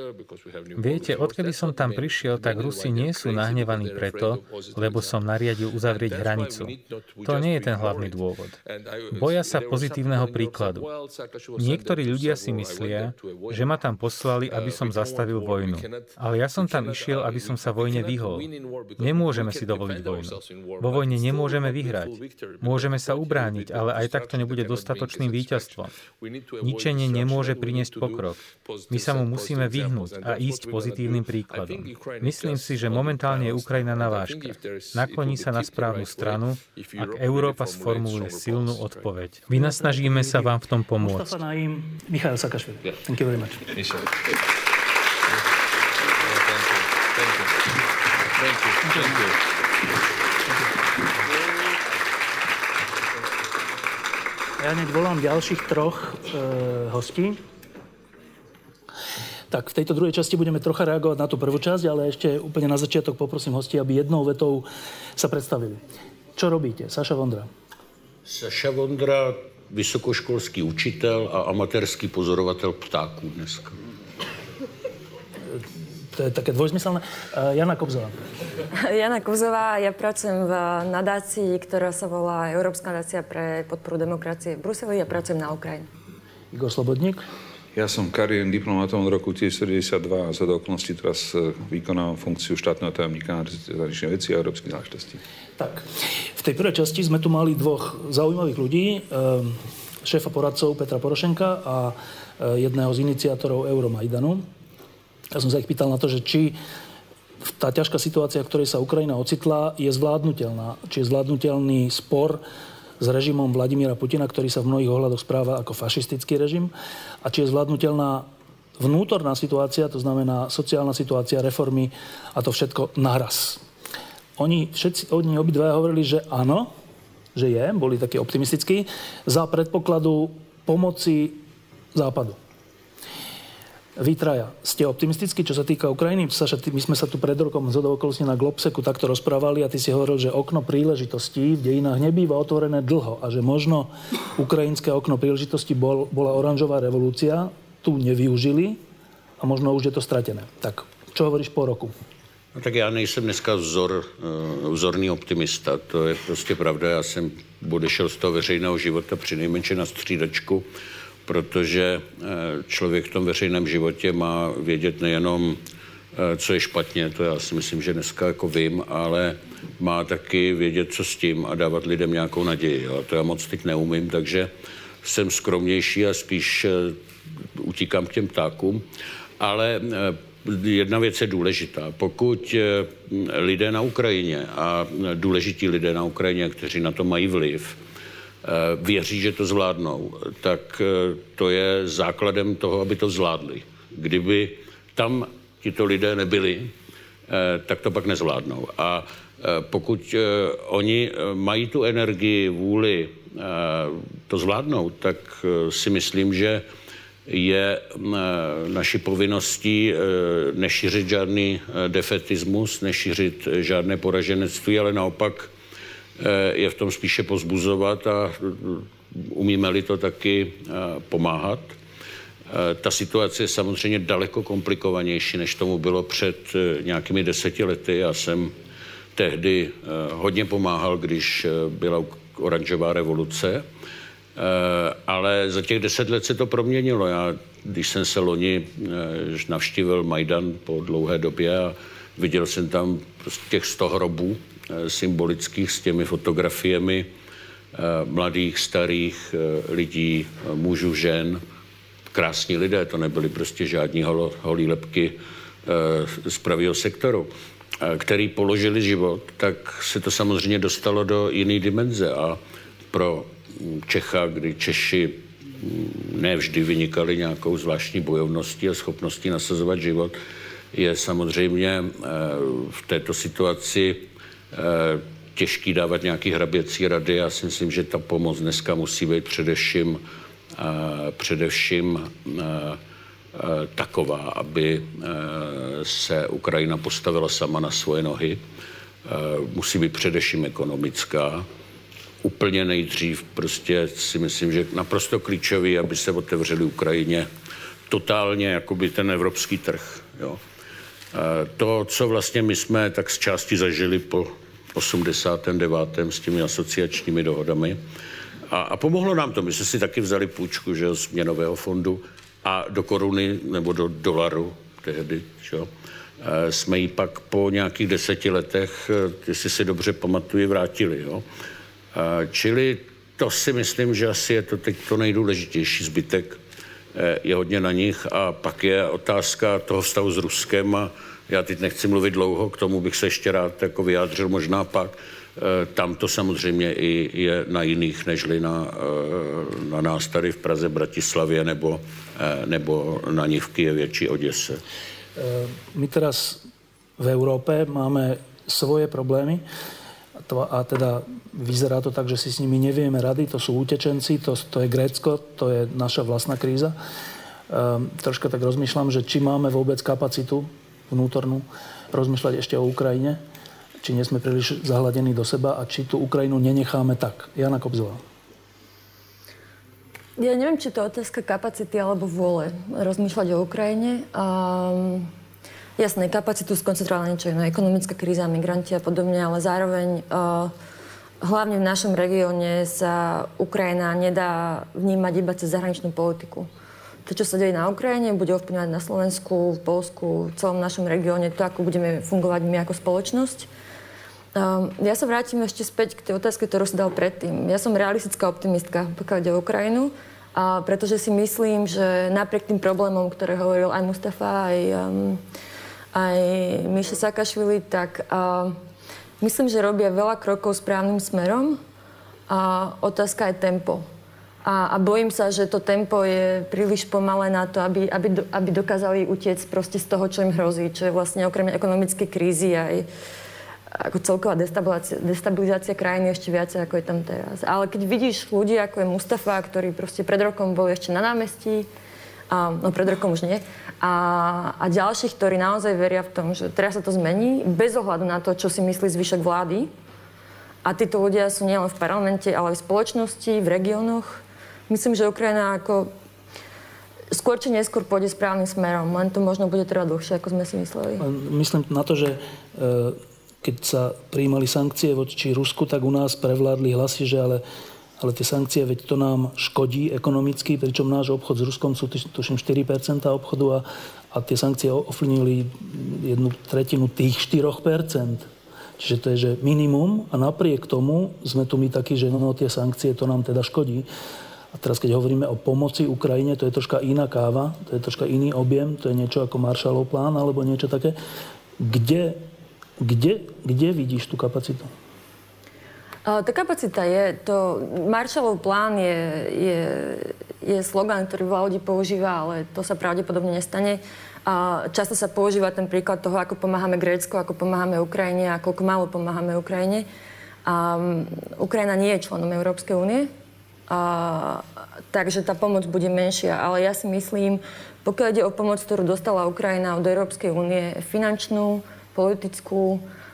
Viete, odkedy som tam prišiel, tak Rusi nie sú nahnevaní preto, lebo som nariadil uzavrieť hranicu. To nie je ten hlavný dôvod. Boja sa pozitívneho príkladu. Niektorí ľudia si myslia, že ma tam poslali, aby som zastavil vojnu. Ale ja som tam išiel, aby som sa vojne vyhol. Nemôžeme si dovoliť vojnu. Vo vojne nemôžeme vyhrať. Môžeme sa ubrániť, ale aj tak to nebude dostatočným víťazstvom. Ničenie nemôže priniesť pokrok. My sa mu musíme vyhnúť a ísť pozitívnym príkladom. Myslím si, že momentálne je Ukrajina na vážke. Nakloní sa na správnu stranu, ak Európa sformuluje silnú odpoveď. Vynasnažíme sa vám v tom pomôcť. Mustafa Naím, Michail Saakašvili. Thank you very much. Thank you. Ja hneď volám ďalších troch hostí. Tak v tejto druhej časti budeme trocha reagovať na tú prvú časť, ale ešte úplne na začiatok poprosím hostí, aby jednou vetou sa predstavili. Čo robíte? Saša Vondra. Saša Vondra, vysokoškolský učitel a amatérský pozorovatel ptáků dneska. To je také dvojzmyselné. Jana Kobzová. Jana Kobzová, ja pracujem v nadácii, ktorá sa volá Európska nadácia pre podporu demokracie v Bruseli a pracujem na Ukrajine. Igor Slobodník. Ja som kariérnym diplomatom od roku 1972 a za okolností teraz vykonávam funkciu štátneho tajomníka na zahraničných vecí a európskych záležitostí. Tak, v tej prvej časti sme tu mali dvoch zaujímavých ľudí, šéfa poradcov Petra Porošenka a jedného z iniciátorov Euromajdanu. Ja som sa ich pýtal na to, že či tá ťažká situácia, v ktorej sa Ukrajina ocitla, je zvládnutelná. Či je zvládnutelný spor s režimom Vladimíra Putina, ktorý sa v mnohých ohľadoch správa ako fašistický režim. A či je zvládnutelná vnútorná situácia, to znamená sociálna situácia, reformy a to všetko naraz. Oni obidvaja hovorili, že áno, že je, boli takí optimistickí, za predpokladu pomoci Západu. Vy traja, ste optimistickí, čo sa týka Ukrajiny? Saša, my sme sa tu pred rokom zhodou okolností na Globseku takto rozprávali a ty si hovoril, že okno príležitostí v dejinách nebýva otvorené dlho a že možno ukrajinské okno príležitosti bola oranžová revolúcia, tu nevyužili a možno už je to stratené. Tak, čo hovoríš po roku? No, tak já nejsem dneska vzorný optimista, to je prostě pravda. Já jsem odešel z toho veřejného života přinejmenším na střídačku, protože člověk v tom veřejném životě má vědět nejenom, co je špatně, to já si myslím, že dneska jako vím, ale má taky vědět, co s tím a dávat lidem nějakou naději. A to já moc teď neumím, takže jsem skromnější a spíš utíkám k těm ptákům. Ale jedna věc je důležitá. Pokud lidé na Ukrajině a důležití lidé na Ukrajině, kteří na to mají vliv, věří, že to zvládnou, tak to je základem toho, aby to zvládli. Kdyby tam tito lidé nebyli, tak to pak nezvládnou. A Pokud oni mají tu energii, vůli to zvládnout, tak si myslím, že je naší povinností nešířit žádný defetismus, nešířit žádné poraženectví, ale naopak je v tom spíše pozbuzovat a umíme-li to taky pomáhat. Ta situace je samozřejmě daleko komplikovanější, než tomu bylo před nějakými 10 lety. Já jsem tehdy hodně pomáhal, když byla oranžová revoluce, ale za těch 10 let se to proměnilo. Já, když jsem se loni navštívil Majdan po dlouhé době a viděl jsem tam prostě těch 100 hrobů symbolických s těmi fotografiemi mladých, starých lidí, mužů, žen, krásní lidé, to nebyly prostě žádní holí lebky z pravého sektoru, který položili život, tak se to samozřejmě dostalo do jiné dimenze a pro Čecha, kdy Češi ne vždy vynikali nějakou zvláštní bojovností a schopností nasazovat život, je samozřejmě v této situaci těžký dávat nějaký hraběcí rady. Já si myslím, že ta pomoc dneska musí být především taková, aby se Ukrajina postavila sama na svoje nohy. Musí být především ekonomická. Úplně nejdřív prostě si myslím, že naprosto klíčový, aby se otevřeli Ukrajině totálně jakoby ten evropský trh. Jo. To, co vlastně my jsme tak z části zažili po 89. s těmi asociačními dohodami. A pomohlo nám to. My jsme si taky vzali půjčku, že, z měnového fondu a do koruny nebo do dolaru tehdy, že, jsme ji pak po nějakých 10 letech, jestli si dobře pamatuju, vrátili. Jo. Čili to si myslím, že asi je to teď to nejdůležitější. Zbytek je hodně na nich a pak je otázka toho vztahu s Ruskem a já teď nechci mluvit dlouho, k tomu bych se ještě rád jako vyjádřil možná pak. Tam to samozřejmě i je na jiných, nežli na nás tady v Praze, Bratislavě nebo na nich v Kyjevě či Oděse. My teraz v Európe máme svoje problémy a teda vyzerá to tak, že si s nimi nevieme rady. To sú utečenci, to je Grécko, to je naša vlastná kríza. Troška tak rozmýšľam, že či máme vôbec kapacitu vnútornú rozmýšľať ešte o Ukrajine, či nie sme príliš zahladení do seba a či tú Ukrajinu nenecháme tak. Jana Kobzová. Ja neviem, či to je otázka kapacity alebo vôle rozmýšľať o Ukrajine. Jasné, kapacitu skoncentrovala niečo iné, ekonomická kríza, migranti a podobne, ale zároveň hlavne v našom regióne sa Ukrajina nedá vnímať iba cez zahraničnú politiku. To, čo sa deje na Ukrajine, bude ovplyvňovať na Slovensku, v Poľsku, v celom našom regióne, to, ako budeme fungovať my ako spoločnosť. Ja sa vrátim ešte späť k tej otázke, ktorú si dal predtým. Ja som realistická optimistka, pokiaľ ide o Ukrajinu, pretože si myslím, že napriek tým problémom, ktoré hovoril aj Mustafa, aj Míša Sakašvili, tak myslím, že robia veľa krokov správnym smerom a otázka je tempo. A bojím sa, že to tempo je príliš pomalé na to, aby dokázali utiecť proste z toho, čo im hrozí, čo je vlastne okrem ekonomickej krízy aj ako celková destabilizácia krajiny ešte viacej, ako je tam teraz. Ale keď vidíš ľudí, ako je Mustafa, ktorí proste pred rokom boli ešte na námestí, pred rokom už nie, a ďalších, ktorí naozaj veria v tom, že teraz sa to zmení, bez ohľadu na to, čo si myslí zvyšok vlády. A títo ľudia sú nielen v parlamente, ale aj v spoločnosti, v regiónoch. Myslím, že Ukrajina ako skôr či neskôr pôjde správnym smerom, len to možno bude trvať dlhšie, ako sme si mysleli. Myslím na to, že keď sa prijímali sankcie voči Rusku, tak u nás prevládli hlasy, že ale tie sankcie, veď to nám škodí ekonomicky, pričom náš obchod s Ruskom sú tuším 4% obchodu a tie sankcie ovplyvnili 1/3 tých 4%. Čiže to je, že minimum a napriek tomu sme tu my takí, že tie sankcie, to nám teda škodí. A teraz, keď hovoríme o pomoci Ukrajine, to je troška iná káva, to je troška iný objem, to je niečo ako Marshallov plán alebo niečo také. Kde vidíš tú kapacitu? Tá kapacita je, Marshallov plán je slogan, ktorý veľa ľudí používa, ale to sa pravdepodobne nestane. Často sa používa ten príklad toho, ako pomáhame Grécku, ako pomáhame Ukrajine a koľko málo pomáhame Ukrajine. Ukrajina nie je členom Európskej únie, takže tá pomoc bude menšia. Ale ja si myslím, pokiaľ ide o pomoc, ktorú dostala Ukrajina od Európskej únie, finančnú, politickú,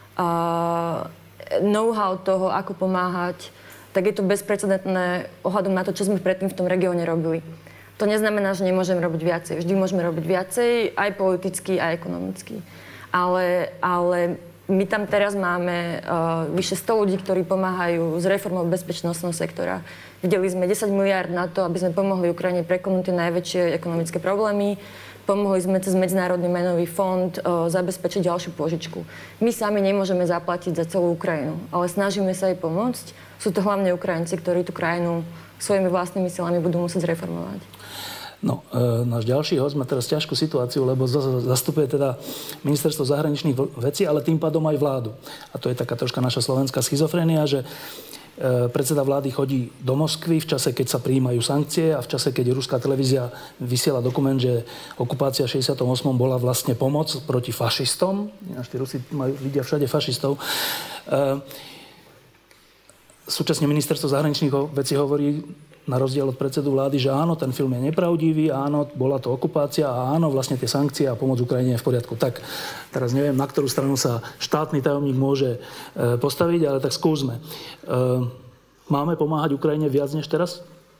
know-how toho, ako pomáhať, tak je to bezprecedentné ohľadom na to, čo sme predtým v tom regióne robili. To neznamená, že nemôžeme robiť viacej. Vždy môžeme robiť viacej, aj politicky, aj ekonomicky. Ale my tam teraz máme vyše 100 ľudí, ktorí pomáhajú s reformou bezpečnostného sektora. Videli sme 10 miliárd na to, aby sme pomohli Ukrajine prekonať tie najväčšie ekonomické problémy. Pomohli sme cez Medzinárodný menový fond zabezpečiť ďalšiu pôžičku. My sami nemôžeme zaplatiť za celú Ukrajinu, ale snažíme sa jej pomôcť. Sú to hlavne Ukrajinci, ktorí tú krajinu svojimi vlastnými silami budú musieť zreformovať. No, náš ďalší host má teraz ťažkú situáciu, lebo zastupuje teda ministerstvo zahraničných vecí, ale tým pádom aj vládu. A to je taká troška naša slovenská schizofrénia, že predseda vlády chodí do Moskvy v čase, keď sa prijímajú sankcie a v čase, keď ruská televízia vysiela dokument, že okupácia 68. bola vlastne pomoc proti fašistom. Až tí Rusi vidia všade fašistov. Súčasne ministerstvo zahraničných vecí hovorí, na rozdiel od predsedu vlády, že áno, ten film je nepravdivý, áno, bola to okupácia a áno, vlastne tie sankcie a pomoc Ukrajine je v poriadku. Tak, teraz neviem, na ktorú stranu sa štátny tajomník môže postaviť, ale tak skúsme. Máme pomáhať Ukrajine viac než teraz?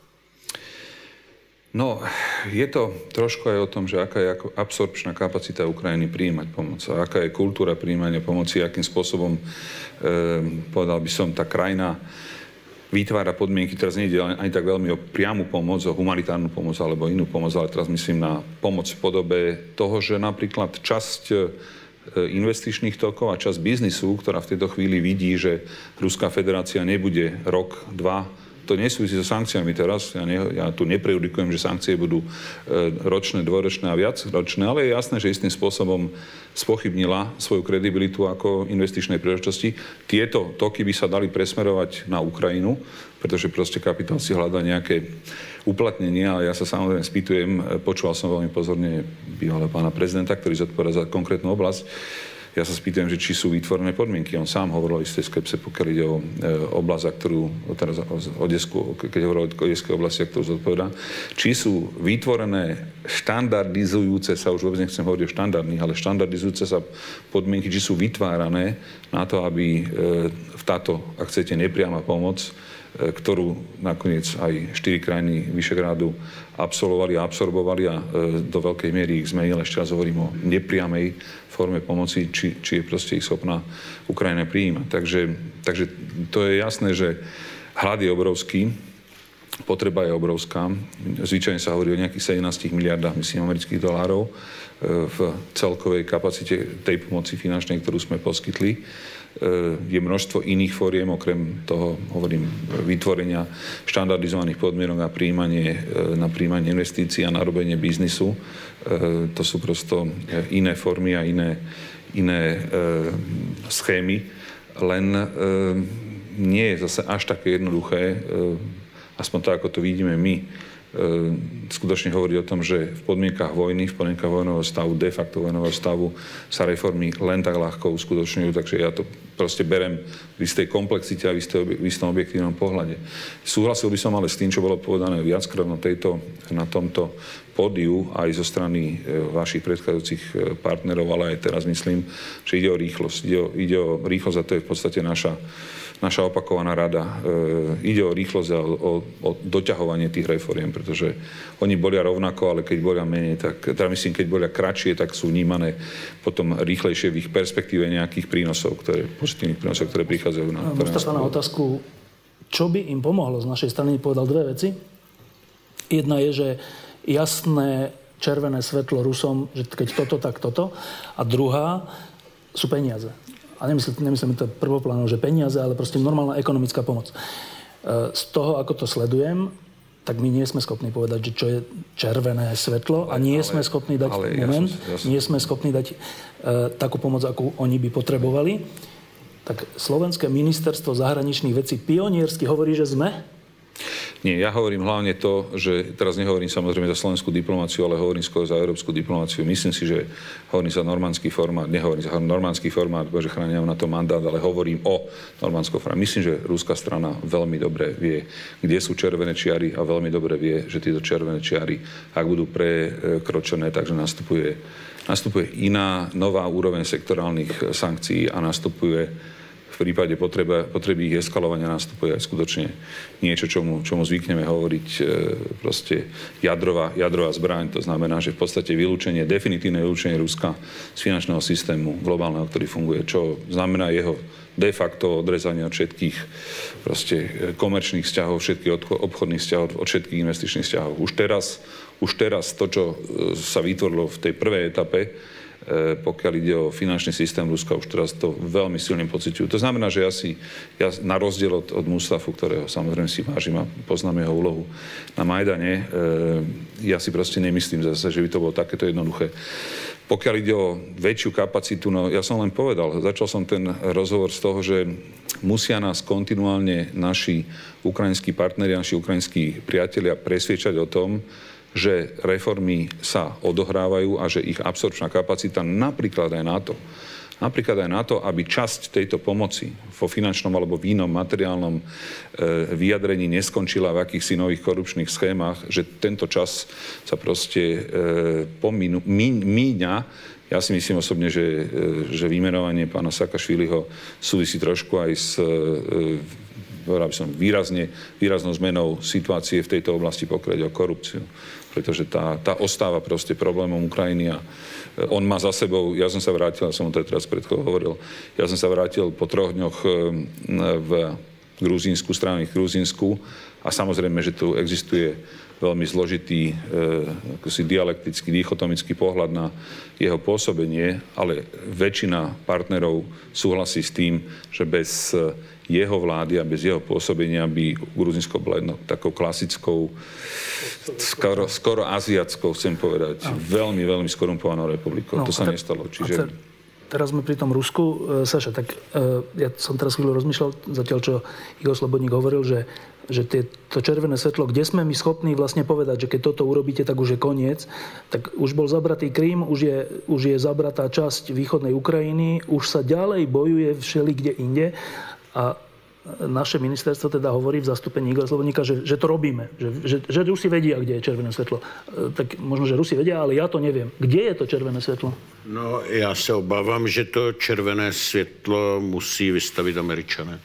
No, je to trošku aj o tom, že aká je absorpčná kapacita Ukrajiny prijímať pomoc a aká je kultúra prijímania pomoci, akým spôsobom, povedal by som, tá krajina vytvára podmienky, teraz nejde ani tak veľmi o priamu pomoc, o humanitárnu pomoc alebo inú pomoc, ale teraz myslím na pomoc v podobe toho, že napríklad časť investičných tokov a časť biznisu, ktorá v tejto chvíli vidí, že Ruská federácia nebude rok, dva, to nesúvisí so sankciami teraz. Ja tu neprejudikujem, že sankcie budú ročné, dvojročné a viacročné, ale je jasné, že istým spôsobom spochybnila svoju kredibilitu ako investičnej príležitosti. Tieto toky by sa dali presmerovať na Ukrajinu, pretože proste kapitál si hľadá nejaké uplatnenie, ale ja sa samozrejme spýtujem, počúval som veľmi pozorne bývalého pána prezidenta, ktorý zodpovedá za konkrétnu oblasť. Ja sa spýtujem, že či sú vytvorené podmienky. On sám hovoril o istej skepse, pokiaľ ide o oblasť, ktorú teraz keď hovoril o odeskej oblasti, ktorú zodpovedá. Či sú vytvorené štandardizujúce sa, už vôbec nechcem hovoriť o štandardných, ale štandardizujúce sa podmienky, či sú vytvárané na to, aby táto, ak chcete, nepriama pomoc, ktorú nakoniec aj 4 krajiny Vyšegrádu absolvovali a absorbovali a do veľkej miery ich zmenili. Ešte raz hovorím o nepriamej forme pomoci, či je proste ich schopná Ukrajina prijímať. Takže to je jasné, že hlad je obrovský, potreba je obrovská. Zvyčajne sa hovorí o nejakých 17 miliardách, myslím, amerických dolárov v celkovej kapacite tej pomoci finančnej, ktorú sme poskytli. Je množstvo iných fóriem, okrem toho, hovorím, vytvorenia štandardizovaných podmienok na prijímanie investícií a narobenie biznisu. To sú prosto iné formy a iné schémy. Len nie je zase až také jednoduché, aspoň tak, ako to vidíme my, skutočne hovorí o tom, že v podmienkach vojny, v podmienkach vojnového stavu, de facto vojnového stavu sa reformy len tak ľahko uskutočňujú, takže ja to proste berem v istej komplexite a v istom objektívnom pohľade. Súhlasil by som ale s tým, čo bolo povedané viackrát na tomto pódiu aj zo strany vašich predchádzajúcich partnerov, ale aj teraz myslím, že ide o rýchlosť. Ide o rýchlosť a to je v podstate naša opakovaná rada. Ide o rýchlosť a o doťahovanie tých reforiem, pretože oni bolia rovnako, ale keď bolia menej, tak teda myslím, keď bolia kratšie, tak sú vnímané potom rýchlejšie v ich perspektíve nejakých prínosov, pozitívnych prínosov, ktoré prichádzajú na Mustafa, na otázku, čo by im pomohlo z našej strany, povedal dve veci. Jedna je, že jasné červené svetlo Rusom, že keď toto, tak toto. A druhá sú peniaze. A nemyslím to prvoplánov, že peniaze, ale proste normálna ekonomická pomoc. Z toho, ako to sledujem, tak my nie sme schopní povedať, že čo je červené svetlo a nie sme schopní dať nie sme schopní dať takú pomoc, akú oni by potrebovali. Tak Slovenské ministerstvo zahraničných vecí pioniersky hovorí, že sme? Nie, ja hovorím hlavne to, že teraz nehovorím samozrejme za slovenskú diplomáciu, ale hovorím skôr za európsku diplomáciu. Myslím si, že hovorím za normandský formát, nehovorím za normandský formát, že chránia na to mandát, ale hovorím o normandskom formáte. Myslím, že ruská strana veľmi dobre vie, kde sú červené čiary a veľmi dobre vie, že tieto červené čiary, ak budú prekročené, takže nastupuje iná nová úroveň sektorálnych sankcií a nastupuje v prípade potreby ich eskalovania nastupuje aj skutočne niečo, čomu zvykneme hovoriť proste jadrová zbraň. To znamená, že v podstate definitívne vylúčenie Ruska z finančného systému globálneho, ktorý funguje, čo znamená jeho de facto odrezanie od všetkých proste komerčných vzťahov, všetkých obchodných vzťahov, od všetkých investičných vzťahov. Už teraz to, čo sa vytvorilo v tej prvej etape, pokiaľ ide o finančný systém Ruska, už teraz to veľmi silne pociťujú. To znamená, že ja na rozdiel od Mustafu, ktorého samozrejme si vážim a poznám jeho úlohu na Majdane, ja si proste nemyslím zase, že by to bolo takéto jednoduché. Pokiaľ ide o väčšiu kapacitu, no ja som len povedal, začal som ten rozhovor z toho, že musia nás kontinuálne naši ukrajinskí partneri, naši ukrajinskí priatelia presviečať o tom, že reformy sa odohrávajú a že ich absorpčná kapacita napríklad aj na to, aby časť tejto pomoci vo finančnom alebo v inom materiálnom vyjadrení neskončila v akýchsi nových korupčných schémach, že tento čas sa proste míňa. Ja si myslím osobne, že vymenovanie pána Saakašviliho súvisí trošku aj s výraznou zmenou situácie v tejto oblasti, pokiaľ ide o korupciu. Pretože tá ostáva proste problémom Ukrajiny a on má za sebou, ja som sa vrátil, som to teraz pred chvíľou hovoril, ja som sa vrátil po 3 dňoch v Gruzínsku, strávnych v Gruzínsku a samozrejme, že tu existuje veľmi zložitý dialektický, dichotomický pohľad na jeho pôsobenie, ale väčšina partnerov súhlasí s tým, že bez jeho vlády a bez jeho pôsobenia by Gruzínsko bolo takou klasickou, skoro aziatskou, chcem povedať, veľmi, veľmi skorumpovanou republikou. To sa nestalo. Čiže... Teraz sme pri tom Rusku. Saša, tak ja som teraz chvíľu rozmýšľal, zatiaľ čo Igor Slobodník hovoril, že to červené svetlo, kde sme my schopní vlastne povedať, že keď toto urobíte, tak už je koniec, tak už bol zabratý Krym, už je zabratá časť východnej Ukrajiny, už sa ďalej bojuje všelikde inde a naše ministerstvo teda hovorí v zastúpení Igora Slobodníka, že to robíme. Že Rusi vedia, kde je červené svetlo. Tak možno, že Rusi vedia, ale ja to neviem. Kde je to červené svetlo? No, já se obávám, že to červené světlo musí vystavit Američané.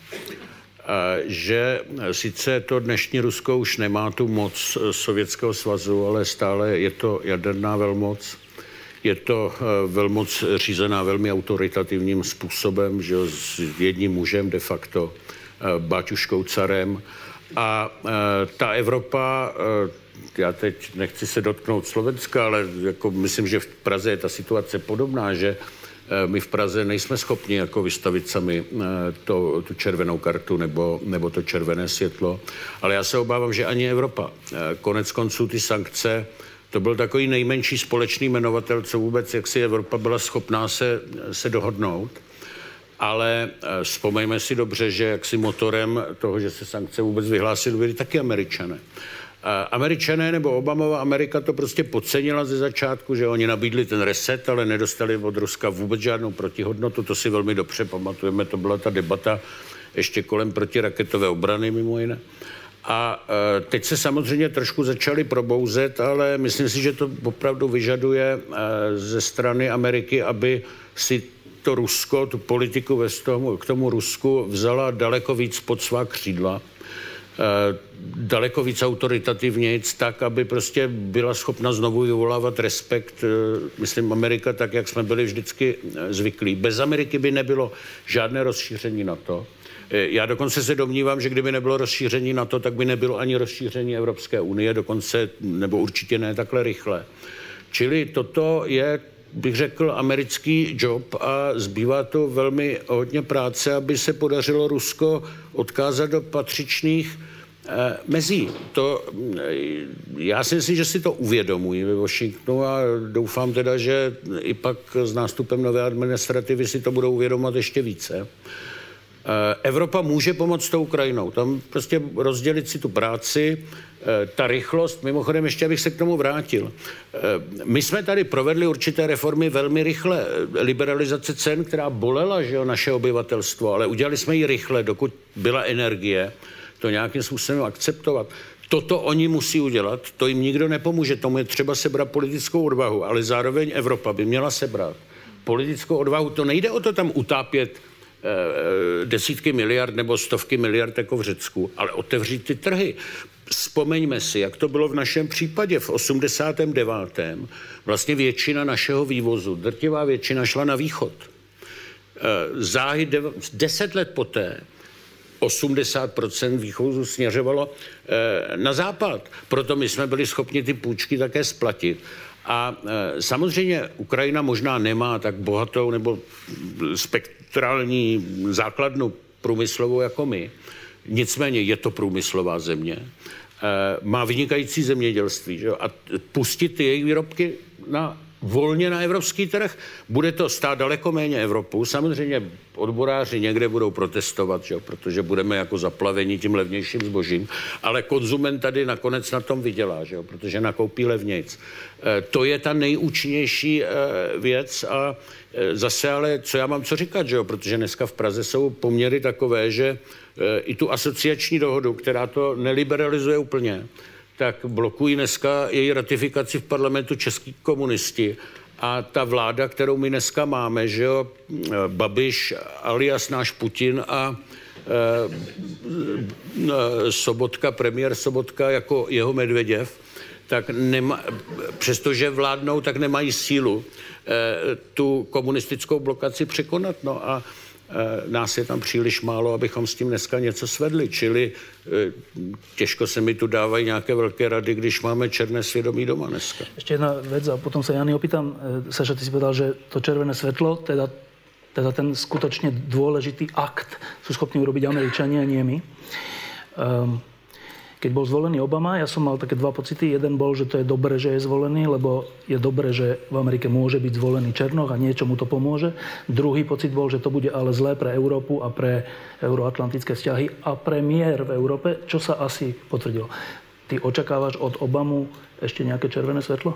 Že sice to dnešní Rusko už nemá tu moc Sovětského svazu, ale stále je to jaderná velmoc. Je to velmoc řízená velmi autoritativním způsobem, že s jedním mužem de facto, Baťuškou carem. A ta Evropa, já teď nechci se dotknout Slovenska, ale jako myslím, že v Praze je ta situace podobná, že my v Praze nejsme schopni jako vystavit sami tu červenou kartu nebo to červené světlo. Ale já se obávám, že ani Evropa. Konec konců ty sankce, to byl takový nejmenší společný jmenovatel, co vůbec, jak si Evropa byla schopná se dohodnout. Ale vzpomeňme si dobře, že jaksi motorem toho, že se sankce vůbec vyhlásily, byly taky Američané. Američané nebo Obamova Amerika to prostě podcenila ze začátku, že oni nabídli ten reset, ale nedostali od Ruska vůbec žádnou protihodnotu. To si velmi dobře pamatujeme, to byla ta debata ještě kolem protiraketové obrany mimo jiné. A teď se samozřejmě trošku začali probouzet, ale myslím si, že to opravdu vyžaduje ze strany Ameriky, aby si to Rusko, tu politiku k tomu Rusku vzala daleko víc pod svá křídla, daleko víc autoritativnějc, tak, aby prostě byla schopna znovu vyvolávat respekt, myslím, Amerika, tak, jak jsme byli vždycky zvyklí. Bez Ameriky by nebylo žádné rozšíření NATO. Já dokonce se domnívám, že kdyby nebylo rozšíření NATO, tak by nebylo ani rozšíření Evropské unie, dokonce, nebo určitě ne takhle rychle. Čili toto je, bych řekl, americký job a zbývá to velmi hodně práce, aby se podařilo Rusko odkázat do patřičných mezí. Já si myslím, že si to uvědomují ve Washingtonu a doufám teda, že i pak s nástupem nové administrativy si to budou uvědomovat ještě více. Evropa může pomoct tou Ukrajinou. Tam prostě rozdělit si tu práci, ta rychlost, mimochodem ještě abych se k tomu vrátil. My jsme tady provedli určité reformy velmi rychle. Liberalizace cen, která bolela, že jo, naše obyvatelstvo, ale udělali jsme ji rychle, dokud byla energie, to nějakým způsobem akceptovat. Toto oni musí udělat, to jim nikdo nepomůže, tomu je třeba sebrat politickou odvahu, ale zároveň Evropa by měla sebrat politickou odvahu. To nejde o to tam utápět desítky miliard nebo stovky miliard jako v Řecku, ale otevřít ty trhy. Vzpomeňme si, jak to bylo v našem případě v 89. Vlastně většina našeho vývozu, drtivá většina šla na východ. Záhy 10 let poté 80% východu směřovalo na západ. Proto my jsme byli schopni ty půjčky také splatit. A samozřejmě Ukrajina možná nemá tak bohatou nebo spektrální základnu průmyslovou jako my. Nicméně je to průmyslová země. Má vynikající zemědělství. Že? A pustit ty jejich výrobky volně na evropský trh, bude to stát daleko méně Evropu. Samozřejmě odboráři někde budou protestovat, že? Protože budeme jako zaplaveni tím levnějším zbožím, ale konzument tady nakonec na tom vydělá, že? Protože nakoupí levnějc. To je ta nejúčinnější věc a zase ale, co já mám co říkat, že? Protože dneska v Praze jsou poměry takové, že i tu asociační dohodu, která to neliberalizuje úplně, tak blokují dneska její ratifikaci v parlamentu český komunisti. A ta vláda, kterou my dneska máme, že jo, Babiš alias náš Putin a Sobotka, premiér Sobotka jako jeho Medveděv, tak přestože vládnou, tak nemají sílu tu komunistickou blokaci překonat. No a nás je tam příliš málo, abychom s tím dneska něco svedli. Čili těžko se mi tu dávají nějaké velké rady, když máme černé svědomí doma dneska. Ešte jedna vec a potom sa Jany opýtam. Saša, ty si povedal, že to červené svetlo, teda ten skutočne dôležitý akt sú schopní urobiť Američania, nie my. Keď bol zvolený Obama, ja som mal také dva pocity. Jeden bol, že to je dobré, že je zvolený, lebo je dobré, že v Amerike môže byť zvolený Černoch a niečo mu to pomôže. Druhý pocit bol, že to bude ale zlé pre Európu a pre euroatlantické vzťahy a pre mier v Európe, čo sa asi potvrdilo. Ty očakávaš od Obamu ešte nejaké červené svetlo?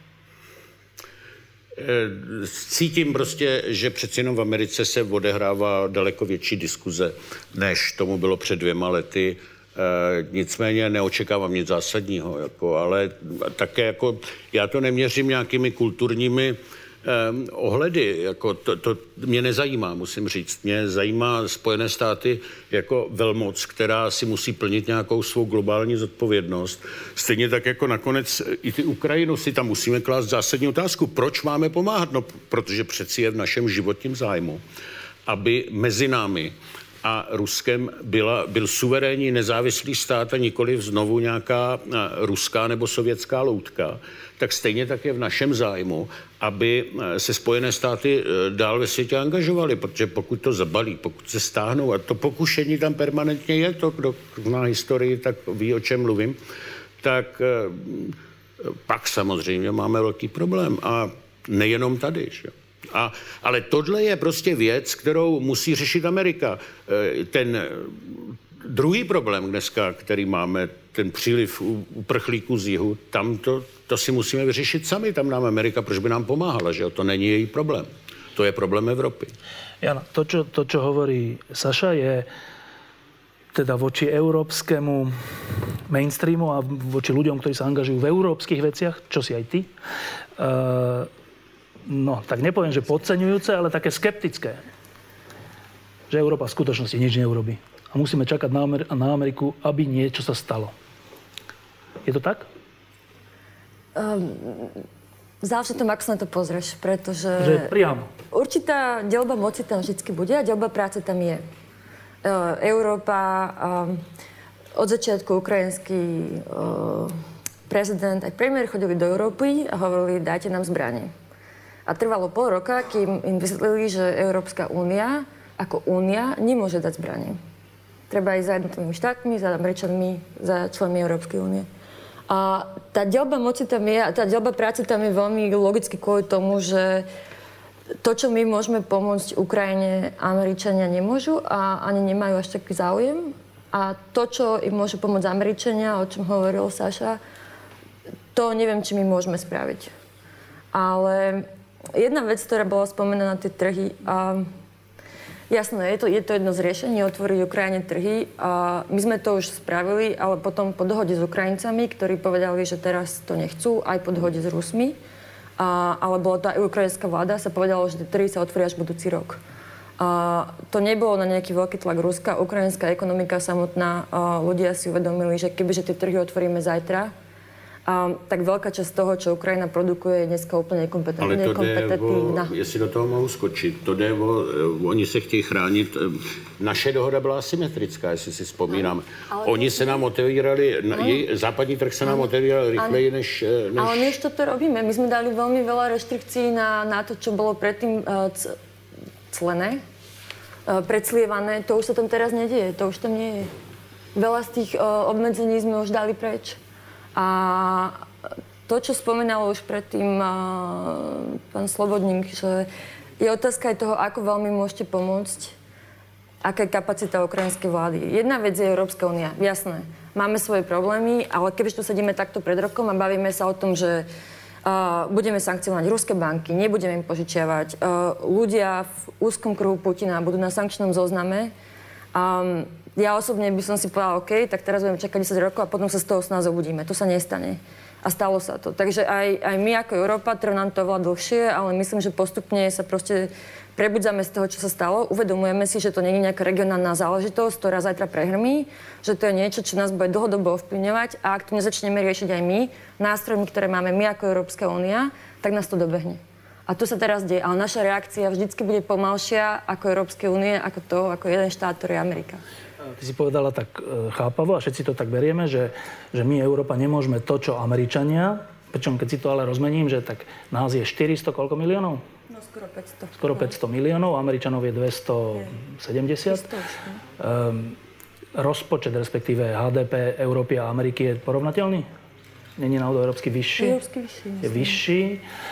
Cítím prostě, že přeci jenom v Americe se odehrává daleko větší diskuze, než tomu bylo před 2 lety. Nicméně neočekávám nic zásadního, ale také já to neměřím nějakými kulturními ohledy, to mě nezajímá, musím říct. Mě zajímá Spojené státy jako velmoc, která si musí plnit nějakou svou globální zodpovědnost. Stejně tak jako nakonec i ty Ukrajinu si tam musíme klást zásadní otázku. Proč máme pomáhat? No, protože přeci je v našem životním zájmu, aby mezi námi a Ruskem byl suverénní nezávislý stát a nikoliv znovu nějaká ruská nebo sovětská loutka, tak stejně tak je v našem zájmu, aby se Spojené státy dál ve světě angažovaly, protože pokud to zabalí, pokud se stáhnou, a to pokušení tam permanentně je, to, kdo zná historii, tak ví, o čem mluvím, tak pak samozřejmě máme velký problém a nejenom tady, že? Ale tohle je prostě věc, kterou musí řešit Amerika. Ten druhý problém dneska, který máme, ten příliv uprchlíků z jihu, tam to si musíme vyřešit sami. Tam nám Amerika, proč by nám pomáhala, že to není její problém. To je problém Evropy. Jana, to, čo hovorí Saša, je teda voči európskemu mainstreamu a voči ľuďom, ktorí sa angažujú v európskych veciach, čo si aj ty, no, tak nepoviem, že podceňujúce, ale také skeptické. Že Európa v skutočnosti nič neurobí. A musíme čakať na Ameriku, aby niečo sa stalo. Je to tak? Záleží tom, ako sa na to pozrieš, pretože... Že priamo. Určitá deľba moci tam vždycky bude a deľba práce tam je. Európa, od začiatku ukrajinský prezident aj premiér chodili do Európy a hovorili, dajte nám zbranie. A trvalo 0,5 roka, kým im vysvetlili, že Európska únia ako únia nemôže dať zbranie. Treba ísť za jednotlivými štátmi, za Američanmi, za členmi Európskej únie. A tá deľba moci tam je, a tá deľba práce tam je veľmi logicky kvôli tomu, že to, čo my môžeme pomôcť Ukrajine, Američania nemôžu a ani nemajú až taký záujem. A to, čo im môžu pomôcť Američania, o čom hovoril Saša, to neviem, či my môžeme spraviť. Ale jedna vec, ktorá bola spomenaná na tie trhy, jasné, je to jedno z riešení, otvoriť Ukrajine trhy. My sme to už spravili, ale potom po dohode s Ukrajincami, ktorí povedali, že teraz to nechcú, aj po dohode s Rusmi. Ale bola tá ukrajinská vláda, sa povedalo, že tie trhy sa otvoria až budúci rok. To nebolo na nejaký veľký tlak Ruska. Ukrajinská ekonomika samotná, ľudia si uvedomili, že kebyže tie trhy otvoríme zajtra, tak veľká časť toho, čo Ukrajina produkuje, je dneska úplně nekompetentná. Jestli do toho mohu skočit, to jde oni se chtějí chránit. Naše dohoda byla asymetrická, jestli si vzpomínám. Oni se nám otevírali, západní trh se nám otevíral rychleji než... Ale my ešte to robíme. My sme dali veľmi veľa reštrikcií na to, čo bolo predtým clené, predslievané. To už sa tam teraz nedieje, to už tam nie je. Veľa z tých obmedzení sme už dali preč. A to, čo spomínal už predtým pán Slobodník, že je otázka aj toho, ako veľmi môžete pomôcť, aká je kapacita ukrajinskej vlády. Jedna vec je Európska únia, jasné. Máme svoje problémy, ale kebyže tu sedíme takto pred rokom a bavíme sa o tom, že budeme sankcionovať ruské banky, nebudeme im požičiavať, ľudia v úzkom kruhu Putina budú na sankčnom zozname. Ja osobne by som si povedala, OK, tak teraz budeme čakať 10 rokov a potom sa z toho snáď zobudíme. To sa nestane. A stalo sa to. Takže aj my ako Európa, trvá nám to oveľa dlhšie, ale myslím, že postupne sa proste prebudzame z toho, čo sa stalo. Uvedomujeme si, že to nie je nejaká regionálna záležitosť, ktorá zajtra prehrmí, že to je niečo, čo nás bude dlhodobo ovplyvňovať a ak to nezačneme riešiť aj my, nástrojmi, ktoré máme my ako Európska únia, tak nás to dobehne. A to sa teraz deje, ale naša reakcia vždycky bude pomalšia ako Európskej únie, ako jeden štát, ktorý je Amerika. Ty si povedala tak chápavo a všetci to tak berieme, že my, Európa, nemôžeme to, čo Američania, pričom keď si to ale rozmením, že tak nás je 400 koľko miliónov? No skoro 500. Skoro 500 miliónov, Američanov je 270. Rozpočet, respektíve HDP Európy a Ameriky je porovnateľný? Není náhodou európsky vyšší? Európsky vyšší. Je vyšší.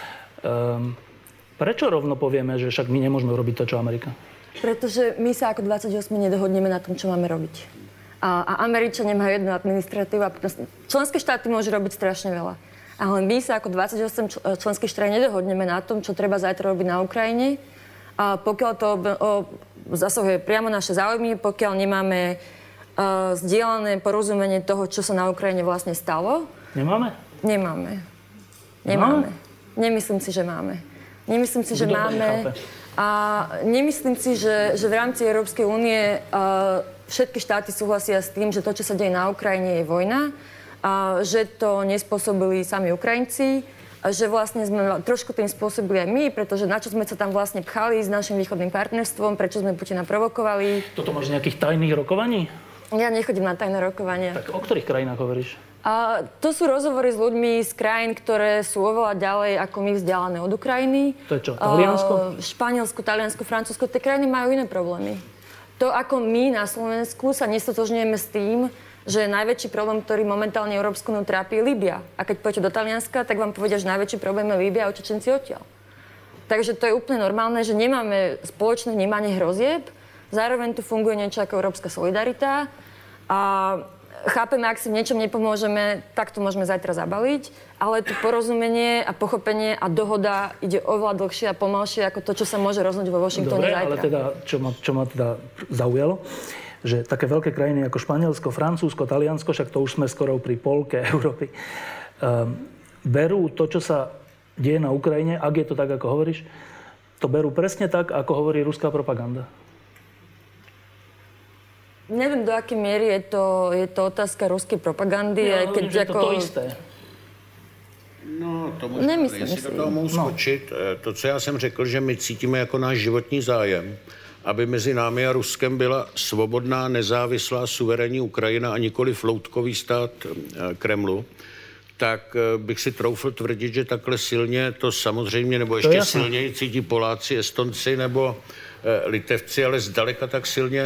Prečo rovno povieme, že však my nemôžeme urobiť to, čo Amerika? Pretože my sa ako 28 nedohodneme na tom, čo máme robiť. A Američania majú jednu administratívu a členské štáty môžu robiť strašne veľa. Ale my sa ako 28 členských štát nedohodneme na tom, čo treba zajtra robiť na Ukrajine. A pokiaľ to zasahuje priamo naše záujmy, pokiaľ nemáme zdieľané porozumenie toho, čo sa na Ukrajine vlastne stalo. Nemáme? Nemáme. Nemyslím si, že máme. Nemyslím si, že máme. A nemyslím si, že v rámci Európskej únie všetky štáty súhlasia s tým, že to, čo sa deje na Ukrajine, je vojna. A že to nespôsobili sami Ukrajinci. A že vlastne sme trošku tým spôsobili aj my, pretože na čo sme sa tam vlastne pchali s našim východným partnerstvom, prečo sme Putina provokovali. Toto máš nejakých tajných rokovaní? Ja nechodím na tajné rokovania. Tak o ktorých krajinách hovoríš? To sú rozhovory s ľuďmi z krajín, ktoré sú oveľa ďalej ako my vzdialené od Ukrajiny. To je čo, Taliansko? Španielsko, Taliansko, Francúzsko. Tie krajiny majú iné problémy. To, ako my na Slovensku sa nestotožňujeme s tým, že najväčší problém, ktorý momentálne Európsku úniu trápi, je Líbia. A keď pôjdete do Talianska, tak vám povedia, že najväčší problém je Líbia a utečenci odtiaľ. Takže to je úplne normálne, že nemáme spoločné vnímanie hrozieb. Zároveň tu funguje niečo ako európska solidarita. A chápeme, ak si v niečom nepomôžeme, tak to môžeme zajtra zabaliť, ale to porozumenie a pochopenie a dohoda ide oveľa dlhšie a pomalšie ako to, čo sa môže rozhodnúť vo Washingtone zajtra. Dobre, ale teda, čo ma teda zaujalo, že také veľké krajiny ako Španielsko, Francúzsko, Taliansko, však to už sme skoro pri polke Európy, berú to, čo sa deje na Ukrajine, ak je to tak, ako hovoríš, to berú presne tak, ako hovorí ruská propaganda. Neviem, do akej miery je to otázka ruskej propagandy. Ja hovorím, že to isté. No, to možná, jestli do toho mohu skočit. To, co já jsem řekl, že my cítíme jako náš životní zájem, aby mezi námi a Ruskem byla svobodná, nezávislá, suverénní Ukrajina a nikoli floutkový stát Kremlu, tak bych si troufl tvrdit, že takhle silně to samozřejmě, nebo ještě silněji cítí Poláci, Estonci nebo Litevci, ale zdaleka tak silně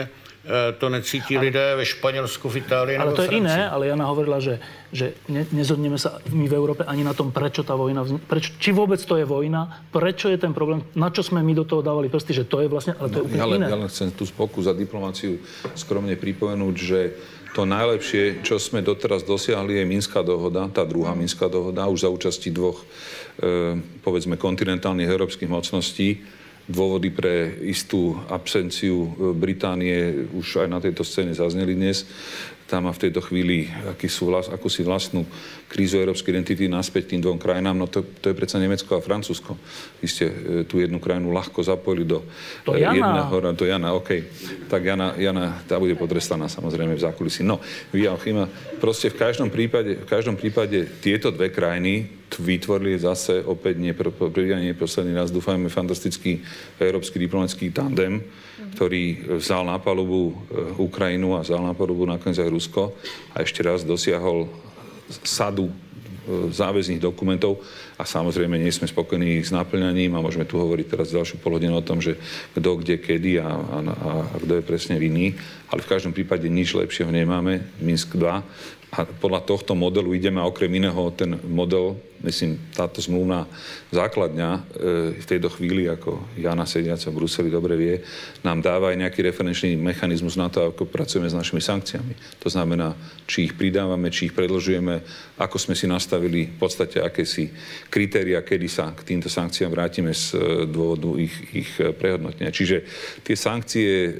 To necítí lidé ve Španělsku, v Itálii nebo Ale to je Francii. iné, ale Jana hovorila, že nezhodneme sa my v Európe ani na tom, prečo tá vojna či vôbec to je vojna, prečo je ten problém, na čo sme my do toho dávali prsty, že to je vlastne, ale to je úplne iné. Ja len chcem tú pokus za diplomáciu skromne pripomenúť, že to najlepšie, čo sme doteraz dosiahli, je Minská dohoda, tá druhá Minská dohoda, už za účasti dvoch, povedzme, kontinentálnych európskych mocností. Dôvody pre istú absenciu Británie už aj na tejto scéne zazneli dnes. Tam má v tejto chvíli akúsi vlastnú krízu európskej identity naspäť tým dvom krajinám. No to je predsa Nemecko a Francúzsko. Vy ste tú jednu krajinu ľahko zapojili do jedného. To Jana, okej. Tak Jana, tá bude potrestaná samozrejme v zákulisí. No, Joachim, proste v každom prípade tieto dve krajiny vytvorili zase opäť posledný raz, dúfajme, fantastický európsky diplomatický tandem, ktorý vzal na palubu Ukrajinu a vzal na palubu nakoniec aj Rusko a ešte raz dosiahol sadu záväzných dokumentov a samozrejme nie sme spokojní s naplňaním a môžeme tu hovoriť teraz ďalšiu polhodinu o tom, že kto, kde, kedy a kto je presne vinný, ale v každom prípade nič lepšieho nemáme, Minsk 2. A podľa tohto modelu ideme a okrem iného ten model, myslím, táto zmluvná základňa v tejto chvíli, ako Jana sediaca v Bruseli dobre vie, nám dáva aj nejaký referenčný mechanizmus na to, ako pracujeme s našimi sankciami. To znamená, či ich pridávame, či ich predĺžujeme, ako sme si nastavili v podstate akési kritéria, kedy sa k týmto sankciám vrátime z dôvodu ich prehodnotenia. Čiže tie sankcie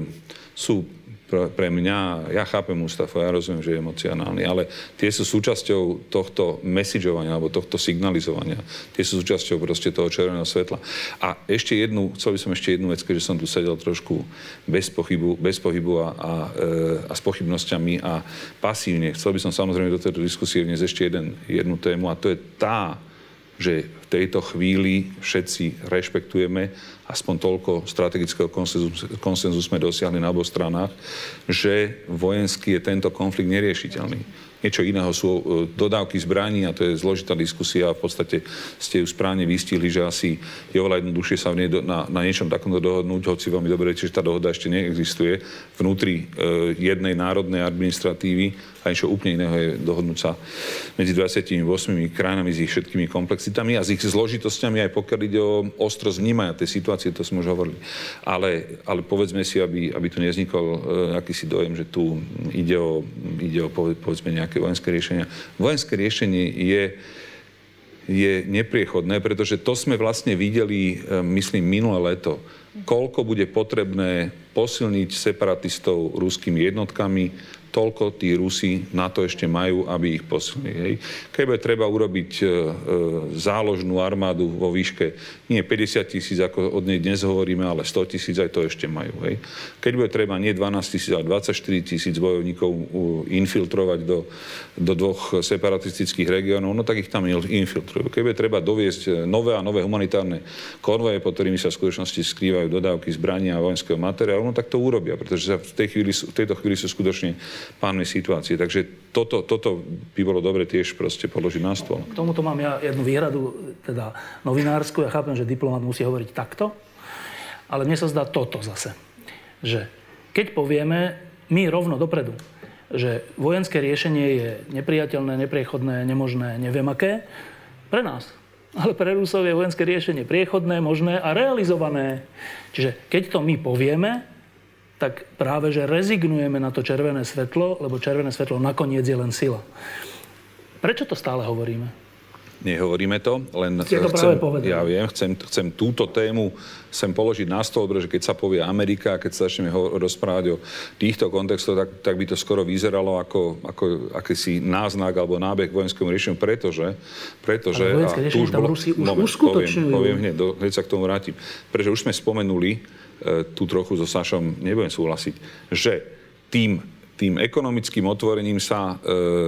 sú pre mňa, ja chápem Mustafa, ja rozumiem, že je emocionálny, ale tie sú súčasťou tohto messageovania alebo tohto signalizovania. Tie sú súčasťou proste toho červeného svetla. A chcel by som ešte jednu vec, keďže som tu sedel trošku bez pohybu a s pochybnosťami a pasívne. Chcel by som samozrejme do tejto diskusie vniesť ešte jednu tému a to je tá, že v tejto chvíli všetci rešpektujeme, aspoň toľko strategického konsenzu sme dosiahli na oboch stranách, že vojensky je tento konflikt neriešiteľný. Niečo iného sú dodávky zbraní a to je zložitá diskusia a v podstate ste ju správne vystihli, že asi je oveľa jednoduchšie sa v nej na niečom takomto dohodnúť, hoci veľmi dobre viete, že tá dohoda ešte neexistuje vnútri jednej národnej administratívy a niečo úplne iného je dohodnúť sa medzi 28 krajinami s ich všetkými komplexitami a s ich zložitosťami, aj pokiaľ ide o ostrosť vnímania tej situácie, to sme už hovorili. Ale povedzme si, aby tu nevznikol akýsi dojem, že tu ide o povedzme nejaké vojenské riešenia. Vojenské riešenie je nepriechodné, pretože to sme vlastne videli, myslím, minulé leto. Koľko bude potrebné posilniť separatistov ruskými jednotkami, toľko tí Rusi na to ešte majú, aby ich posilnili. Hej. Keď bude treba urobiť záložnú armádu vo výške nie 50 000, ako od nej dnes hovoríme, ale 100 000, aj to ešte majú. Hej. Keď bude treba nie 12 000, ale 24 000 bojovníkov infiltrovať do dvoch separatistických regiónov, no tak ich tam infiltrujú. Keď bude treba doviesť nové a nové humanitárne konvoje, pod ktorými sa v skutočnosti skrývajú dodávky zbrania a vojenského materiálu, no tak to urobia, pretože sa v tejto chvíli sú skutočne pánmi situácie. Takže toto by bolo dobre tiež proste položiť na stôl. K tomuto mám ja jednu výhradu, teda novinársku. Ja chápem, že diplomat musí hovoriť takto, ale mne sa zdá toto zase. Že keď povieme my rovno dopredu, že vojenské riešenie je nepriateľné, nepriechodné, nemožné, neviem aké, pre nás. Ale pre Rusov je vojenské riešenie priechodné, možné a realizované. Čiže keď to my povieme, tak práve, že rezignujeme na to červené svetlo, lebo červené svetlo nakoniec je len sila. Prečo to stále hovoríme? Nehovoríme to, len chcem túto tému položiť na stôl, pretože keď sa povie Amerika, keď sa začneme rozprávať o týchto kontextoch, tak by to skoro vyzeralo ako akýsi náznak alebo nábeh vojenskému riešeniu, pretože vojenské riešenie tam Rusi už uskutočňujú. Poviem hneď sa k tomu vrátim. Pretože už sme spomenuli, tu trochu so Sašom nebudem súhlasiť, že tým ekonomickým otvorením sa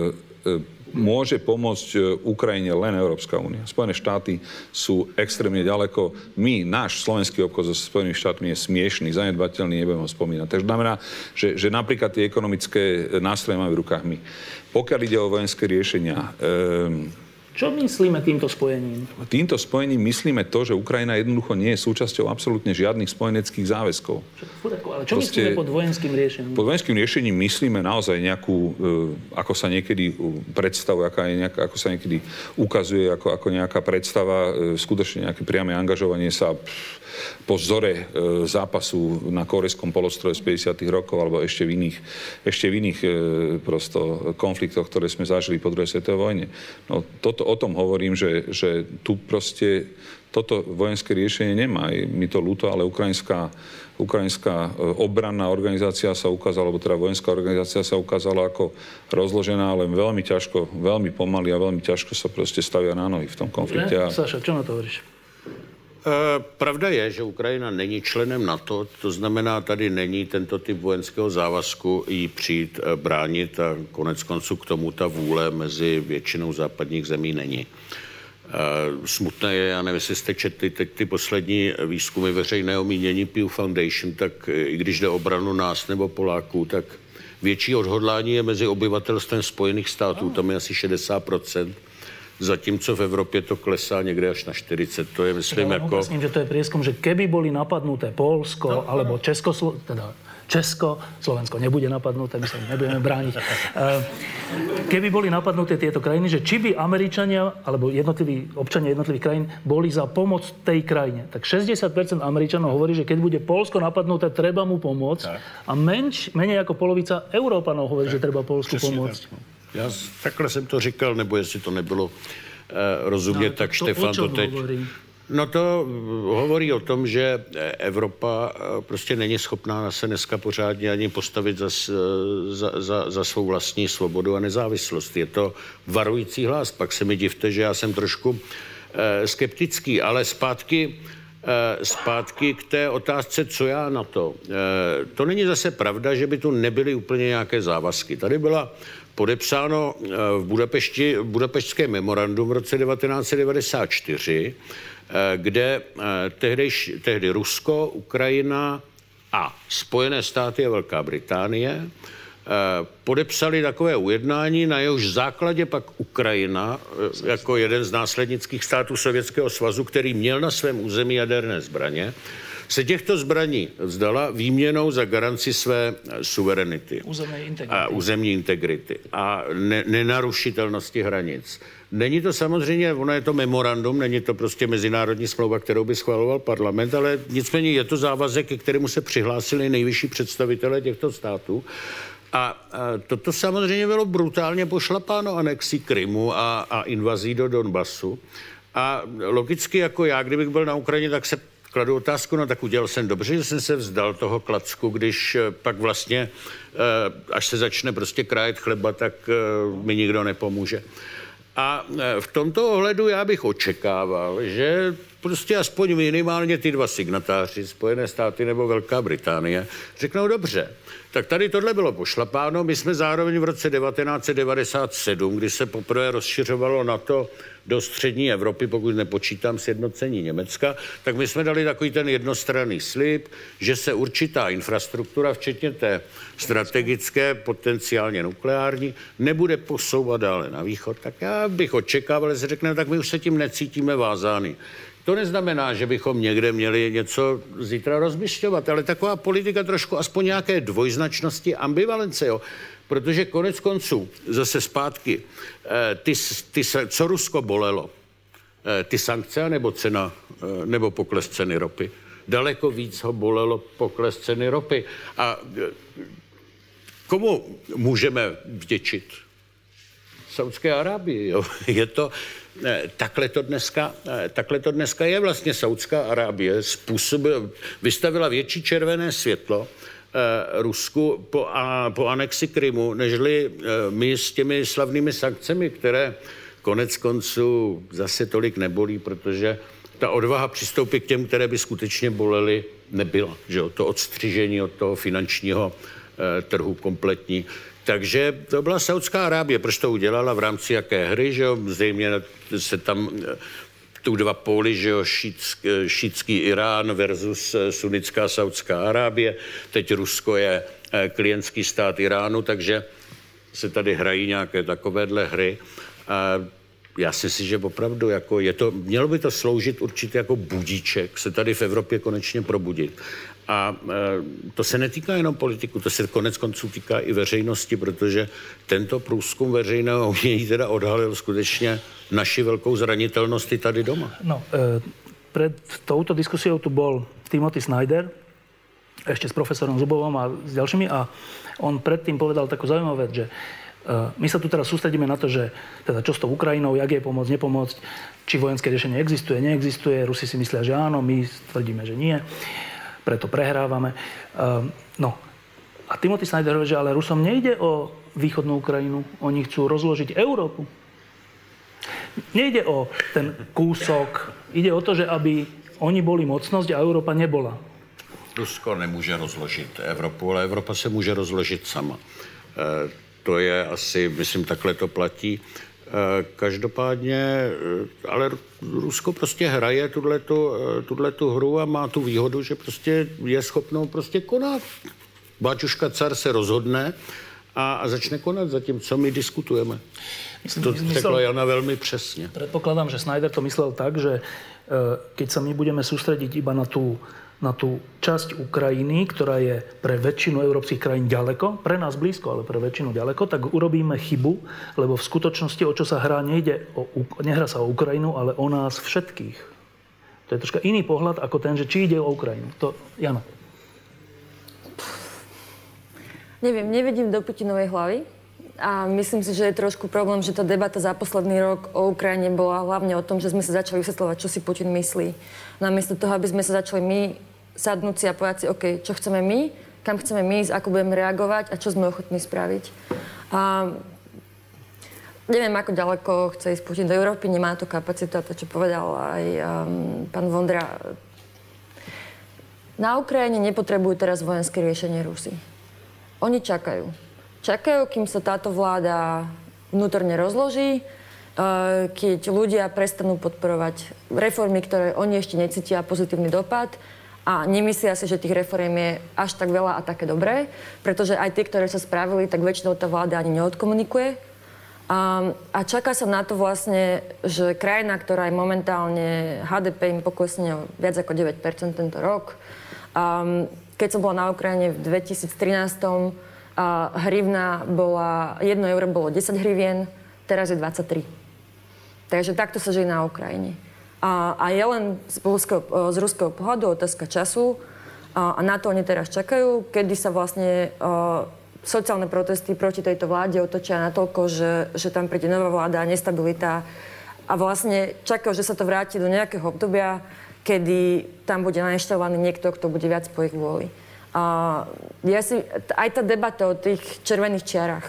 môže pomôcť Ukrajine len Európska únia. Spojené štáty sú extrémne ďaleko. Náš slovenský obchod so Spojenými štátmi je smiešný, zanedbateľný, nebudem ho spomínať. Takže znamená, že napríklad tie ekonomické nástroje máme v rukách my. Pokiaľ ide o vojenské riešenia, Čo myslíme týmto spojením? Týmto spojením myslíme to, že Ukrajina jednoducho nie je súčasťou absolútne žiadnych spojeneckých záväzkov. Ale čo myslíme pod vojenským riešením? Pod vojenským riešením myslíme naozaj nejakú, ako sa niekedy predstavuje, ako sa niekedy ukazuje, ako nejaká predstava, skutočne nejaké priame angažovanie sa po vzore zápasu na Kórejskom polostroje z 50. rokov alebo ešte v iných prosto konfliktoch, ktoré sme zažili po druhej svetovej vojne. No, o tom hovorím, že tu proste toto vojenské riešenie nemá. Mi to ľúto, ale ukrajinská obranná organizácia sa ukázala, alebo teda vojenská organizácia sa ukázala ako rozložená, ale veľmi ťažko, veľmi pomaly a veľmi ťažko sa proste stavia na nohy v tom konflikte. Saša, čo na to hovoríš? Pravda je, že Ukrajina není členem NATO, to znamená, tady není tento typ vojenského závazku jí přijít bránit a konec konců k tomu ta vůle mezi většinou západních zemí není. Smutné je, já nevím, jestli jste četli teď ty poslední výzkumy veřejného mínění Pew Foundation, tak i když jde o obranu nás nebo Poláků, tak větší odhodlání je mezi obyvatelstvem Spojených států, tam je asi 60%. Zatímco v Evropě to klesá někde až na 40. To je, myslím, jako... Myslím, že to je prieskum, že keby boli napadnuté Poľsko alebo Česko, Slovensko nebude napadnuté, my sa nebudeme brániť. Keby boli napadnuté tieto krajiny, že či by Američania alebo občania jednotlivých krajín boli za pomoc tej krajine, tak 60% Američanov hovorí, že keď bude Poľsko napadnuté, treba mu pomôcť. Tak. A menej ako polovica Európanov hovorí, že treba Poľsku pomôcť. Tak. Já takhle jsem to říkal, nebo jestli to nebylo rozumět, tak Štefan to teď... No to hovorí o tom, že Evropa prostě není schopná se dneska pořádně ani postavit za svou vlastní svobodu a nezávislost. Je to varující hlas. Pak se mi divte, že já jsem trošku skeptický, ale zpátky k té otázce, co já na to. To není zase pravda, že by tu nebyly úplně nějaké závazky. Tady byla podepsáno v Budapešťské memorandum v roce 1994, kde tehdy Rusko, Ukrajina a Spojené státy a Velká Británie podepsali takové ujednání, na jehož základě pak Ukrajina, jako jeden z následnických států Sovětského svazu, který měl na svém území jaderné zbraně, se těchto zbraní vzdala výměnou za garanci své suverenity. Územní integrity a nenarušitelnosti hranic. Není to samozřejmě, ono je to memorandum, není to prostě mezinárodní smlouva, kterou by schvaloval parlament, ale nicméně je to závazek, ke kterému se přihlásili nejvyšší představitelé těchto států. A toto samozřejmě bylo brutálně pošlapáno anexí Krymu a invazí do Donbasu. A logicky jako já, kdybych byl na Ukrajině, tak se kladu otázku, no tak udělal jsem dobře, že jsem se vzdal toho klacku, když pak vlastně, až se začne prostě krájet chleba, tak mi nikdo nepomůže. A v tomto ohledu já bych očekával, že prostě aspoň minimálně ty dva signatáři, Spojené státy nebo Velká Británie, řeknou dobře. Tak tady tohle bylo pošlapáno. My jsme zároveň v roce 1997, kdy se poprvé rozšiřovalo NATO do střední Evropy, pokud nepočítám sjednocení Německa, tak my jsme dali takový ten jednostranný slib, že se určitá infrastruktura, včetně té strategické, potenciálně nukleární, nebude posouvat dále na východ. Tak já bych očekával, že se řekne, tak my už se tím necítíme vázány. To neznamená, že bychom někde měli něco zítra rozmyšľovat, ale taková politika trošku aspoň nějaké dvojznačnosti, ambivalence, jo. Protože konec konců, zase zpátky, co Rusko bolelo? Ty sankce nebo cena, nebo pokles ceny ropy? Daleko víc ho bolelo pokles ceny ropy. A komu můžeme vděčit? Saudské Arábii, jo. Je to... Takhle to dneska je vlastně Saudská Arábie. Vystavila větší červené světlo Rusku po anexi Krymu, nežli my s těmi slavnými sankcemi, které konec konců zase tolik nebolí, protože ta odvaha přistoupit k těm, které by skutečně bolely, nebyla. Že jo? To odstřižení od toho finančního trhu kompletní. Takže to byla Saudská Arábie. Proč to udělala? V rámci jaké hry? Že jo? Zřejmě se tam tu dva póly, že jo? Šítský Irán versus sunnická Saudská Arábie. Teď Rusko je klientský stát Iránu, takže se tady hrají nějaké takovéhle hry. já si myslím, že opravdu jako mělo by to sloužit určitě jako budíček, se tady v Evropě konečně probudit. A to se netýká jenom politiků, to se konec konců týká i veřejnosti, protože tento průzkum veřejného umění teda odhalil skutečně naši velkou zranitelnost i tady doma. No, pred touto diskusiou tu bol Timothy Snyder, ešte s profesorom Zubovom a s ďalšími, a on predtým povedal takú zaujímavú vec, že my sa tu teraz sústredíme na to, že teda čo s tou Ukrajinou, jak jej pomôcť, nepomôcť, či vojenské riešenie existuje, neexistuje. Rusi si myslia, že áno, my tvrdíme, že nie. Preto prehrávame. No. A Timothy Snyder hovorí, že ale Rusom nejde o východnú Ukrajinu. Oni chcú rozložiť Európu. Nejde o ten kúsok. Ide o to, že aby oni boli mocnosť a Európa nebola. Rusko nemůže rozložit Evropu, ale Evropa se může rozložit sama. To je asi, myslím, takhle to platí. Každopádně, ale Rusko prostě hraje tuhletu hru a má tu výhodu, že prostě je schopnou prostě konat. Báťuška car se rozhodne a začne konat, zatímco my diskutujeme. To řekla Jana velmi přesně. Predpokladám, že Snyder to myslel tak, že keď sa my budeme sústrediť iba na tú časť Ukrajiny, ktorá je pre väčšinu európskych krajín ďaleko, pre nás blízko, ale pre väčšinu ďaleko, tak urobíme chybu, lebo v skutočnosti, o čo sa hrá, nehrá sa o Ukrajinu, ale o nás všetkých. To je troška iný pohľad ako ten, že či ide o Ukrajinu. To, Jana. Neviem, nevidím do Putinovej hlavy. A myslím si, že je trošku problém, že tá debata za posledný rok o Ukrajine bola hlavne o tom, že sme sa začali vysvetľovať, čo si Putin myslí. Namiesto toho, aby sme sa začali my sadnúť si a povedať si, OK, čo chceme my, kam chceme my ísť, ako budeme reagovať a čo sme ochotní spraviť. A neviem, ako ďaleko chce ísť Putin do Európy, nemá to kapacitu, a to, čo povedal aj pán Vondra. Na Ukrajine nepotrebujú teraz vojenské riešenie Rusi. Oni čakajú. Čakajú, kým sa táto vláda vnútorne rozloží, keď ľudia prestanú podporovať reformy, ktoré oni ešte necítia pozitívny dopad a nemyslia si, že tých reform je až tak veľa a také dobré, pretože aj tie, ktoré sa spravili, tak väčšinou tá vláda ani neodkomunikuje. A čaká sa na to vlastne, že krajina, ktorá je momentálne HDP im poklesne o viac ako 9% tento rok. Keď som bola na Ukrajine v 2013, hrivna bola, 1 euro bolo 10 hrivien, teraz je 23. Takže takto sa žije na Ukrajine. A je len z ruského pohľadu otázka času a na to oni teraz čakajú, kedy sa vlastne sociálne protesty proti tejto vláde otočia natoľko, že tam príde nová vláda, nestabilita a vlastne čakajú, že sa to vráti do nejakého obdobia, kedy tam bude nainštalovaný niekto, kto bude viac po ich vôli. Aj tá debata o tých červených čiarach.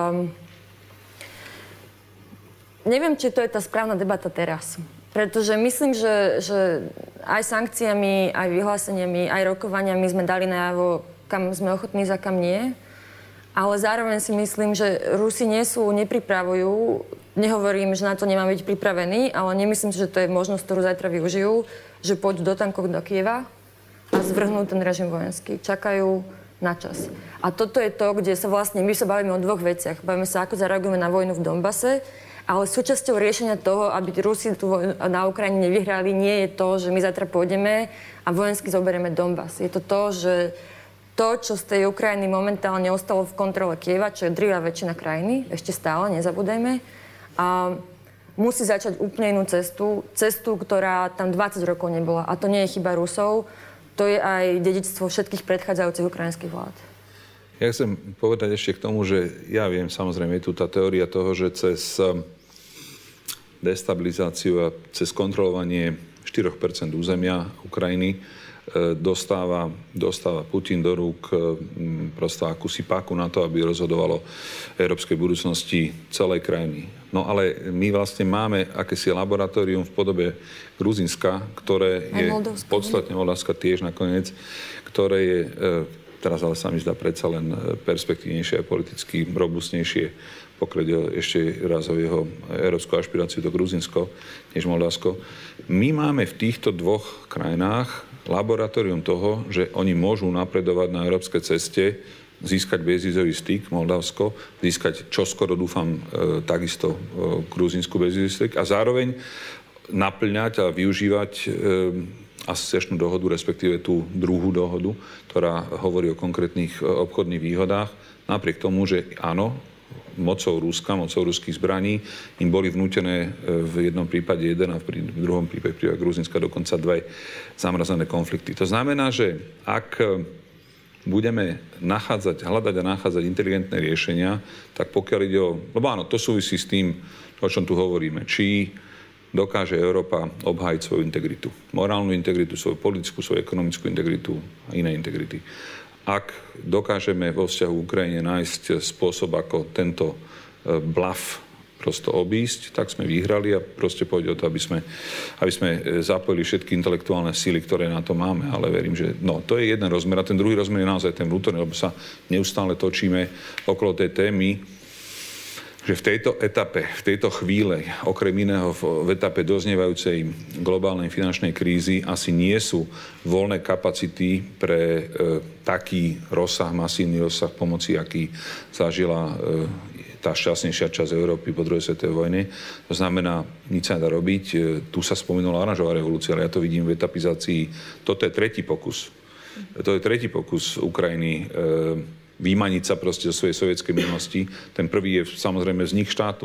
Neviem, či to je tá správna debata teraz. Pretože myslím, že aj sankciami, aj vyhláseniami, aj rokovaniami sme dali najavo, kam sme ochotní, za kam nie. Ale zároveň si myslím, že Rusi nepripravujú. Nehovorím, že na to nemá byť pripravený, ale nemyslím si, že to je možnosť, ktorú zajtra využijú, že pôjdu do tankov do Kieva a zvrhnú ten režim vojenský. Čakajú na čas. A toto je to, kde sa vlastne, my sa bavíme o dvoch veciach. Bavíme sa, ako zareagujeme na vojnu v Donbase, ale súčasťou riešenia toho, aby Rusi tu na Ukrajine nevyhrali, nie je to, že my zajtra pôjdeme a vojensky zoberieme Donbas. Je to to, že to, čo z tej Ukrajiny momentálne ostalo v kontrole Kieva, čo je drvivá väčšina krajiny, ešte stále, nezabúdajme, a musí začať úplne inú cestu, ktorá tam 20 rokov nebola. A to nie je chyba Rusov, to je aj dedičstvo všetkých predchádzajúcich ukrajinských vlád. Ja chcem povedať ešte k tomu, že ja viem, samozrejme, je tu tá teória toho, že cez destabilizáciu a cez kontrolovanie 4% územia Ukrajiny dostáva Putin do rúk prosto akúsi páku na to, aby rozhodovalo európskej budúcnosti celej krajiny. No ale my vlastne máme akési laboratórium v podobe Gruzínska, ktoré je podstatne Moldavska tiež nakoniec, ktoré je, teraz ale sa mi zdá predsa len perspektívnejšie a politicky robustnejšie, pokiaľ ešte raz o jeho európsku ašpiráciu do Gruzínsko, než Moldavsko. My máme v týchto dvoch krajinách laboratórium toho, že oni môžu napredovať na európskej ceste získať bezvízový styk Moldavsko, získať čoskoro, dúfam, takisto gruzínsku bezvízový styk a zároveň naplňať a využívať asociačnú dohodu, respektíve tú druhú dohodu, ktorá hovorí o konkrétnych obchodných výhodách, napriek tomu, že áno, mocou Ruska, mocou ruských zbraní im boli vnútené v jednom prípade jeden a v druhom prípade Gruzínska dokonca 2 zamrazené konflikty. To znamená, že ak budeme hľadať a nachádzať inteligentné riešenia, tak pokiaľ ide o... Lebo áno, to súvisí s tým, o čom tu hovoríme. Či dokáže Európa obhájiť svoju integritu. Morálnu integritu, svoju politickú, svoju ekonomickú integritu a iné integrity. Ak dokážeme vo vzťahu k Ukrajine nájsť spôsob, ako tento blaf prosto obísť, tak sme vyhrali a proste pôjde o to, aby sme zapojili všetky intelektuálne síly, ktoré na to máme. Ale verím, že to je jeden rozmer a ten druhý rozmer je naozaj ten vnútorný, lebo sa neustále točíme okolo tej témy, že v tejto etape, v tejto chvíle, okrem iného v etape doznievajúcej globálnej finančnej krízy, asi nie sú voľné kapacity pre taký rozsah, masívny rozsah pomoci, aký zažila tá šťastnejšia časť Európy po druhej svetovej vojne. To znamená, nič sa nedá robiť. Tu sa spomenula oranžová revolúcia, ale ja to vidím v etapizácii. Toto je tretí pokus. To je tretí pokus Ukrajiny vymaniť sa proste zo svojej sovietskej minulosti. Ten prvý je samozrejme vznik štátu.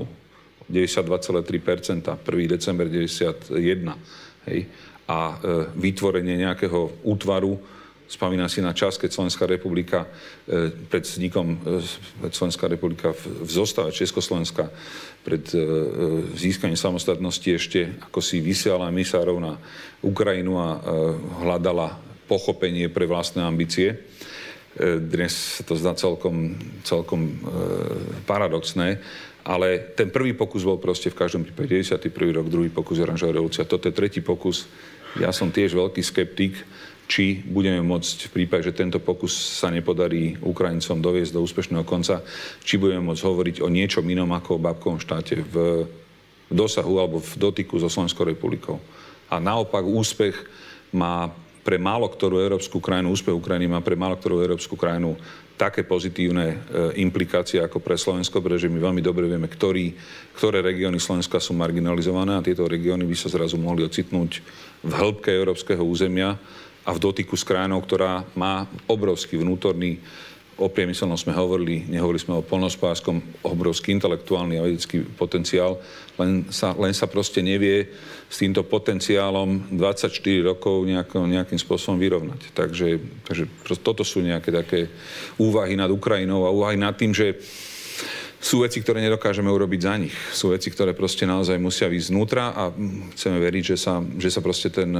92,3%, 1. december 91. Hej. A vytvorenie nejakého útvaru, spomínam si na čas, keď Slovenská republika pred vznikom Slovenská republika v zostave Československa pred získaním samostatnosti ešte ako si vysiala emisárov na Ukrajinu a hľadala pochopenie pre vlastné ambície. Dnes sa to zdá celkom paradoxné, ale ten prvý pokus bol proste v každom prípade 91. rok, druhý pokus oranžová revolúcia. Toto je tretí pokus. Ja som tiež veľký skeptik, či budeme môcť v prípade, že tento pokus sa nepodarí Ukrajincom doviesť do úspešného konca, či budeme môcť hovoriť o niečom inom ako o babkovom štáte v dosahu alebo v dotyku so Slovenskou republikou. A naopak úspech má pre málo ktorú európsku krajinu, úspech Ukrajiny má pre málo ktorú európsku krajinu také pozitívne implikácie ako pre Slovensko, pretože my veľmi dobre vieme, ktoré regióny Slovenska sú marginalizované a tieto regióny by sa zrazu mohli ocitnúť v hĺbke európskeho územia a v dotyku s krajinou, ktorá má obrovský vnútorný, o priemyselnom sme nehovorili sme o poľnohospodárskom, obrovský intelektuálny a vedecký potenciál, len sa proste nevie s týmto potenciálom 24 rokov nejakým spôsobom vyrovnať. Takže toto sú nejaké také úvahy nad Ukrajinou a úvahy nad tým, že sú veci, ktoré nedokážeme urobiť za nich. Sú veci, ktoré proste naozaj musia výjsť znútra a chceme veriť, že sa proste ten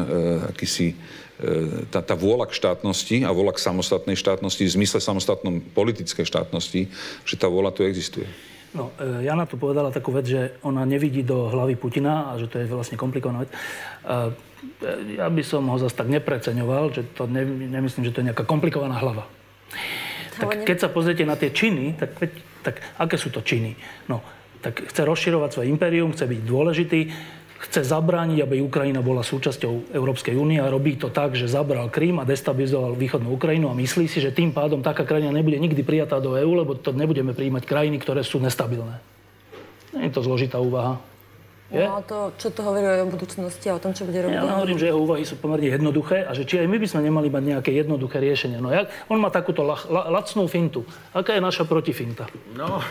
tá vôľa k štátnosti a vôľa k samostatnej štátnosti, v zmysle samostatnom politickej štátnosti, že tá vôľa tu existuje. No, Jana tu povedala takú vec, že ona nevidí do hlavy Putina a že to je vlastne komplikovaná vec. Ja by som ho zase tak nepreceňoval, že to nemyslím, že to je nejaká komplikovaná hlava. Tak keď sa pozriete na tie činy, tak aké sú to činy? No, tak chce rozširovať svoje impérium, chce byť dôležitý, chce zabrániť, aby Ukrajina bola súčasťou Európskej únie a robí to tak, že zabral Krym a destabilizoval východnú Ukrajinu a myslí si, že tým pádom taká krajina nebude nikdy prijatá do EÚ, lebo to nebudeme prijímať krajiny, ktoré sú nestabilné. Nie je to zložitá úvaha. Je? No to, čo to hovorí o budúcnosti a o tom, čo bude robiť? Ja hovorím, že jeho úvahy sú pomerne jednoduché a že či aj my by sme nemali mať nejaké jednoduché riešenie. No on má takúto lacnú fintu. Aká je naša protifinta? No,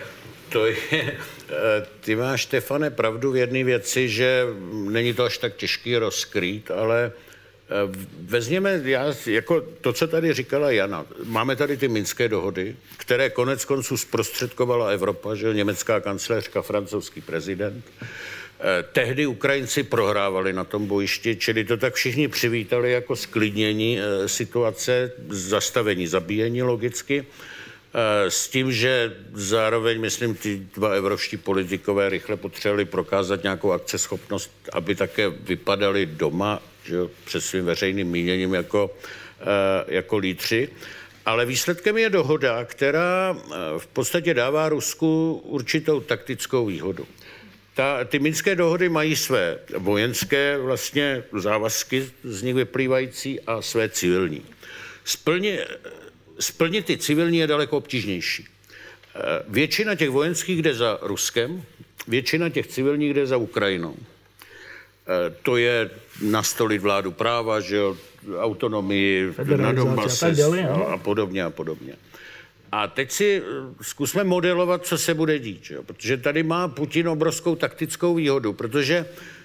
ty máš, Štefane, pravdu v jedné věci, že není to až tak těžký rozkrýt, ale vezměme, jako to, co tady říkala Jana, máme tady ty minské dohody, které konec konců zprostředkovala Evropa, že německá kancléřka, francouzský prezident. Tehdy Ukrajinci prohrávali na tom bojišti, čili to tak všichni přivítali jako sklidnění situace, zastavení zabíjení logicky. S tím, že zároveň, myslím, ty dva evropští politikové rychle potřebovali prokázat nějakou akceschopnost, aby také vypadali doma, že, před svým veřejným míněním jako lídři. Ale výsledkem je dohoda, která v podstatě dává Rusku určitou taktickou výhodu. Ty minské dohody mají své vojenské vlastně závazky z nich vyplývající a své civilní. splnit ty civilní je daleko obtížnější. Většina těch vojenských jde za Ruskem, většina těch civilních jde za Ukrajinou. To je nastolit vládu práva, že jo, autonomii na Donbase a podobně a podobně. A teď si zkusme modelovat, co se bude dít, že jo? Protože tady má Putin obrovskou taktickou výhodu, protože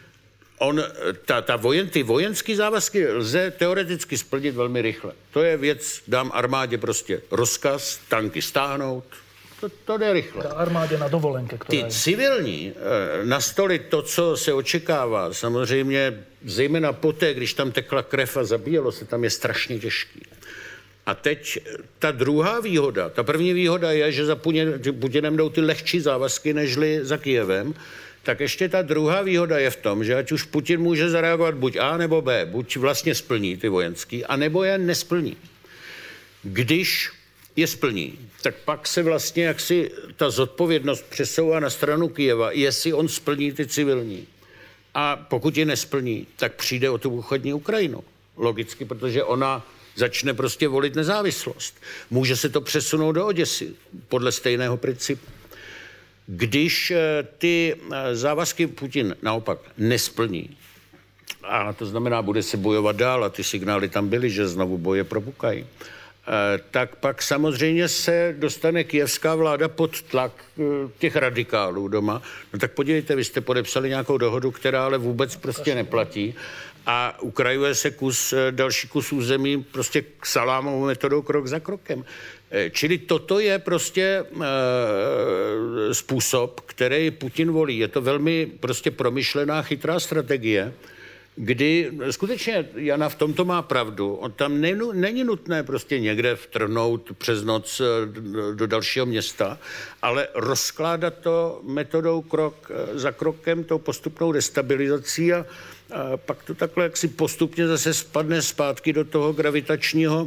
ty vojenské závazky lze teoreticky splnit velmi rychle. To je věc, dám armádě prostě rozkaz, tanky stáhnout, to jde rychle. Armádě na dovolenke, která Ty civilní nastolit to, co se očekává, samozřejmě zejména poté, když tam tekla krev a zabíjelo se, tam je strašně těžký. A teď ta druhá výhoda, ta první výhoda je, že za Putinem jdou ty lehčí závazky, nežli za Kyjevem, tak ještě ta druhá výhoda je v tom, že ať už Putin může zareagovat buď A nebo B, buď vlastně splní ty vojenský, anebo je nesplní. Když je splní, tak pak se vlastně jaksi ta zodpovědnost přesouvá na stranu Kyjeva, jestli on splní ty civilní. A pokud je nesplní, tak přijde o tu východní Ukrajinu. Logicky, protože ona začne prostě volit nezávislost. Může se to přesunout do Oděsy podle stejného principu. Když ty závazky Putin naopak nesplní, a to znamená, bude se bojovat dál a ty signály tam byly, že znovu boje propukají, tak pak samozřejmě se dostane kyjevská vláda pod tlak těch radikálů doma. No tak podívejte, vy jste podepsali nějakou dohodu, která ale vůbec prostě neplatí a ukrajuje se další kus území prostě salámovou metodou krok za krokem. Čili toto je prostě způsob, který Putin volí. Je to velmi prostě promyšlená, chytrá strategie, kdy skutečně Jana v tomto má pravdu. On tam není nutné prostě někde vtrhnout přes noc do dalšího města, ale rozkládat to metodou krok za krokem, tou postupnou destabilizací a pak to takhle jaksi postupně zase spadne zpátky do toho gravitačního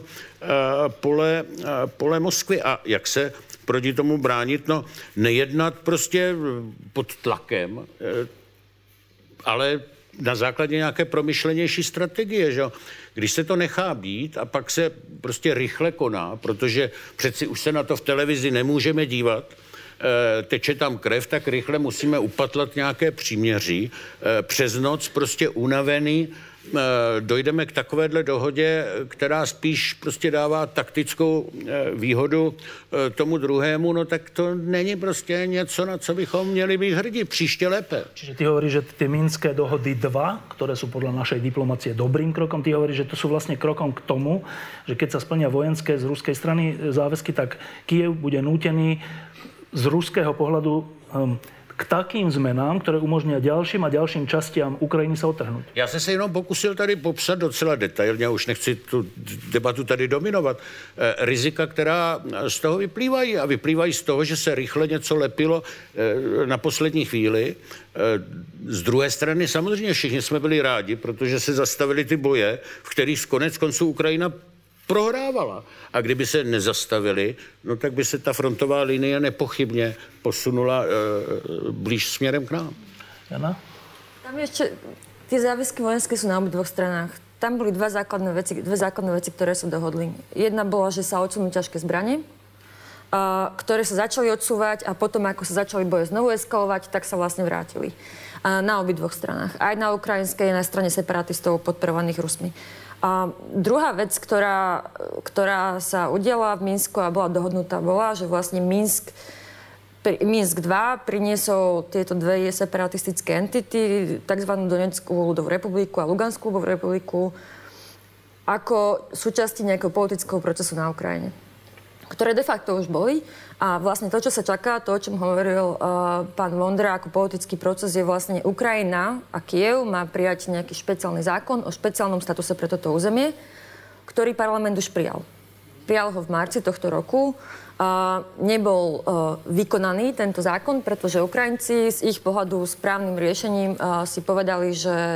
pole Moskvy. A jak se proti tomu bránit? No, nejednat prostě pod tlakem, ale na základě nějaké promyšlenější strategie, že? Když se to nechá být a pak se prostě rychle koná, protože přeci už se na to v televizi nemůžeme dívat, teče tam krev, tak rychle musíme upatlat nějaké příměří. Přes noc prostě unavený dojdeme k takovéhle dohodě, která spíš prostě dává taktickou výhodu tomu druhému, no tak to není prostě něco, na co bychom měli být hrdí. Příště lépe. Čiže ty hovoríš, že ty Minské dohody 2, ktoré sú podľa našej diplomacie dobrým krokom, ty hovoríš, že to sú vlastne krokom k tomu, že keď sa splnia vojenské z ruskej strany záväzky, tak Kyjev bude nútený z ruského pohľadu k takým zmenám, které umožní dalším a dalším častiam Ukrajiny se otrhnout. Já jsem se jenom pokusil tady popsat docela detailně, už nechci tu debatu tady dominovat, rizika, která z toho vyplývají a vyplývají z toho, že se rychle něco lepilo na poslední chvíli. Z druhé strany samozřejmě všichni jsme byli rádi, protože se zastavili ty boje, v kterých konec konců Ukrajina prohrávala. A kdyby se nezastavili, no tak by se ta frontová linie nepochybně posunula blíž směrem k nám. Jana? Tam ještě ty záväzky vojenské sú na obidvoch stranách. Tam boli dve základné veci, ktoré sa dohodli. Jedna bola, že sa odsunú ťažké zbrane, ktoré sa začali odsúvať a potom, ako sa začali boje znovu eskalovať, tak sa vlastne vrátili. Na obidvoch stranách. Aj na ukrajinskej, aj na strane separatistov podporovaných Rusmi. A druhá vec, ktorá sa udiala v Minsku a bola dohodnutá, bola, že vlastne Minsk 2 priniesol tieto dve separatistické entity, tzv. Donetskú ľudovú republiku a Luganskú ľudovú republiku, ako súčasti nejakého politického procesu na Ukrajine, ktoré de facto už boli. A vlastne to, čo sa čaká, to, o čom hovoril pán Vondra ako politický proces, je vlastne Ukrajina a Kyjev má prijať nejaký špeciálny zákon o špeciálnom statuse pre toto územie, ktorý parlament už prijal. Prijal ho v marci tohto roku. Nebol vykonaný tento zákon, pretože Ukrajinci z ich pohľadu správnym riešením si povedali,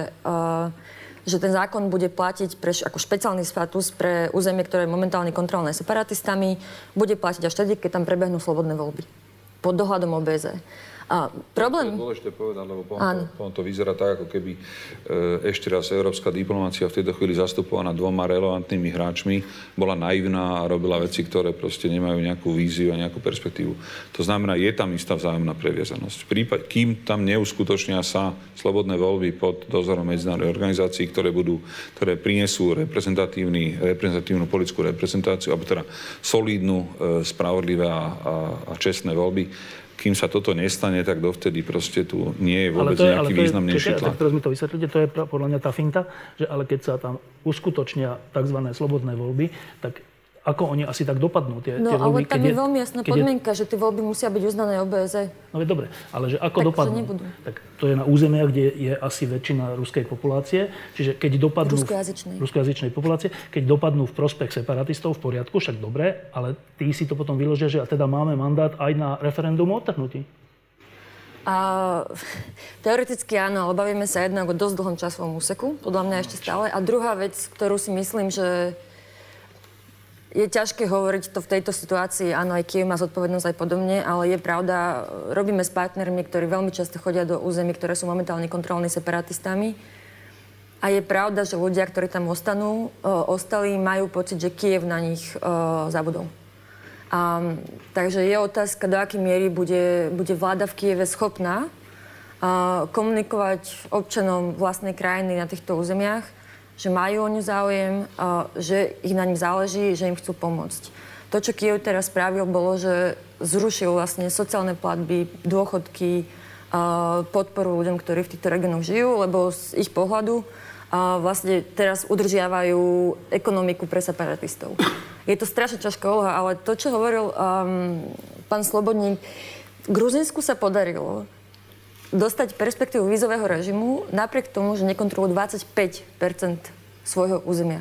že ten zákon bude platiť ako špeciálny status pre územie, ktoré je momentálne kontrolované separatistami, bude platiť až vtedy, keď tam prebehnú slobodné voľby pod dohľadom OBSE. Problém... To je dôležité povedať, lebo potom to vyzerá tak, ako keby ešte raz európska diplomácia v tejto chvíli zastupovaná 2 relevantnými hráčmi bola naivná a robila veci, ktoré proste nemajú nejakú víziu a nejakú perspektívu. To znamená, je tam istá vzájomná previazanosť. Kým tam neuskutočnia sa slobodné voľby pod dozorom medzinárodnej organizácií, ktoré prinesú reprezentatívnu politickú reprezentáciu, alebo teda solídnu, spravodlivé a čestné voľby. Kým sa toto nestane, tak dovtedy proste tu nie je vôbec nejaký významnejší tlak. Teraz mi to vysvetlíte, to je podľa mňa tá finta, že ale keď sa tam uskutočnia tzv. Slobodné voľby, tak ako oni asi tak dopadnú tie voľby? Ale tam je veľmi jasná podmienka, že tie voľby musia byť uznané OBSE. No je dobre, ale že ako dopadnú? Tak to je na územiach, kde je asi väčšina ruskej populácie, čiže keď dopadnú... Ruskojazyčnej populácie. Keď dopadnú v prospech separatistov, v poriadku, však dobre, ale tí si to potom vyložia, že a teda máme mandát aj na referendum o odtrhnutí. Teoreticky áno, ale bavíme sa jednak o dosť dlhom časovom úseku, podľa mňa ešte stále. A druhá vec, ktorú si myslím, že je ťažké hovoriť to v tejto situácii, áno, aj Kyjev má zodpovednosť aj podobne, ale je pravda, robíme s partnermi, ktorí veľmi často chodia do území, ktoré sú momentálne kontrolní separatistami. A je pravda, že ľudia, ktorí tam ostali, majú pocit, že Kyjev na nich zabudol. Takže je otázka, do akej miery bude vláda v Kyjeve schopná komunikovať občanom vlastnej krajiny na týchto územiach, že majú o ňu záujem, že ich na nich záleží, že im chcú pomôcť. To, čo Kyjev teraz spravil, bolo, že zrušil vlastne sociálne platby, dôchodky, podporu ľuďom, ktorí v týchto regiónoch žijú, lebo z ich pohľadu vlastne teraz udržiavajú ekonomiku pre separatistov. Je to strašne ťažká úloha, ale to, čo hovoril pán Slobodník, Gruzínsku sa podarilo dostať perspektívu vízového režimu napriek tomu, že nekontrolujú 25% svojho územia.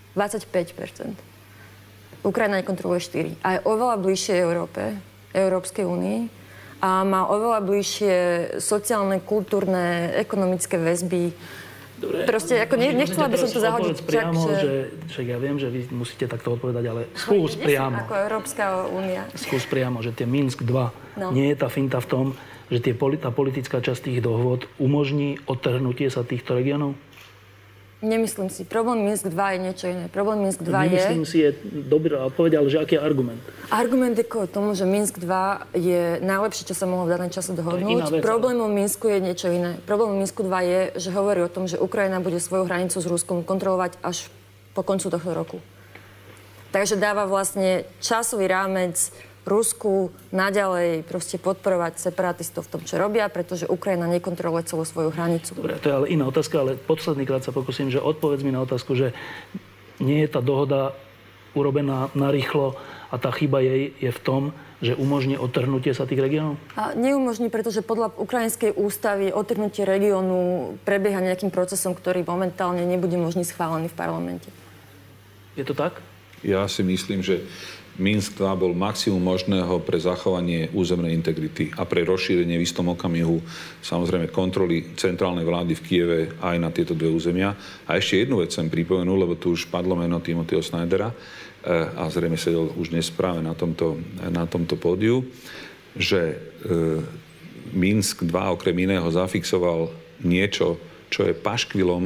25%. Ukrajina nekontroluje 4%. A je oveľa bližšie Európe, Európskej únii a má oveľa bližšie sociálne, kultúrne, ekonomické väzby. Dobre, proste, ako nechcela by som to zahodiť. Priamo, že ja viem, že vy musíte takto odpovedať, ale skús priamo. Ako Európska únia. Skús priamo, že tie Minsk 2, nie je tá finta v tom, že tá politická časť tých dohôd umožní odtrhnutie sa týchto regiónov? Nemyslím si. Problém Minsk 2 je niečo iné. Problém Minsk 2 Nemyslím si, je dobrá odpoveď, ale že aký je argument? Argument je kvôli tomu, že Minsk 2 je najlepšie, čo sa mohlo v danom čase dohodnúť. Problémom Minsku je niečo iné. Problémom Minsku 2 je, že hovorí o tom, že Ukrajina bude svoju hranicu s Ruskom kontrolovať až po koncu tohto roku. Takže dáva vlastne časový rámec Rusku naďalej proste podporovať separatistov v tom, čo robia, pretože Ukrajina nekontroluje celú svoju hranicu. Dobre, to je ale iná otázka, ale posledný krát sa pokúsim, že odpovedz mi na otázku, že nie je tá dohoda urobená narýchlo a tá chyba jej je v tom, že umožní odtrhnutie sa tých regiónov? A neumožní, pretože podľa ukrajinskej ústavy odtrhnutie regiónu prebieha nejakým procesom, ktorý momentálne nebude možný schválený v parlamente. Je to tak? Ja si myslím, že Minsk 2 bol maximum možného pre zachovanie územnej integrity a pre rozšírenie v istom okamihu samozrejme kontroly centrálnej vlády v Kyjeve aj na tieto dve územia. A ešte jednu vec som pripomenul, lebo tu už padlo meno Timothyho Snydera a zrejme sedel už dnes práve na tomto pódiu, že Minsk 2 okrem iného zafixoval niečo, čo je paškvilom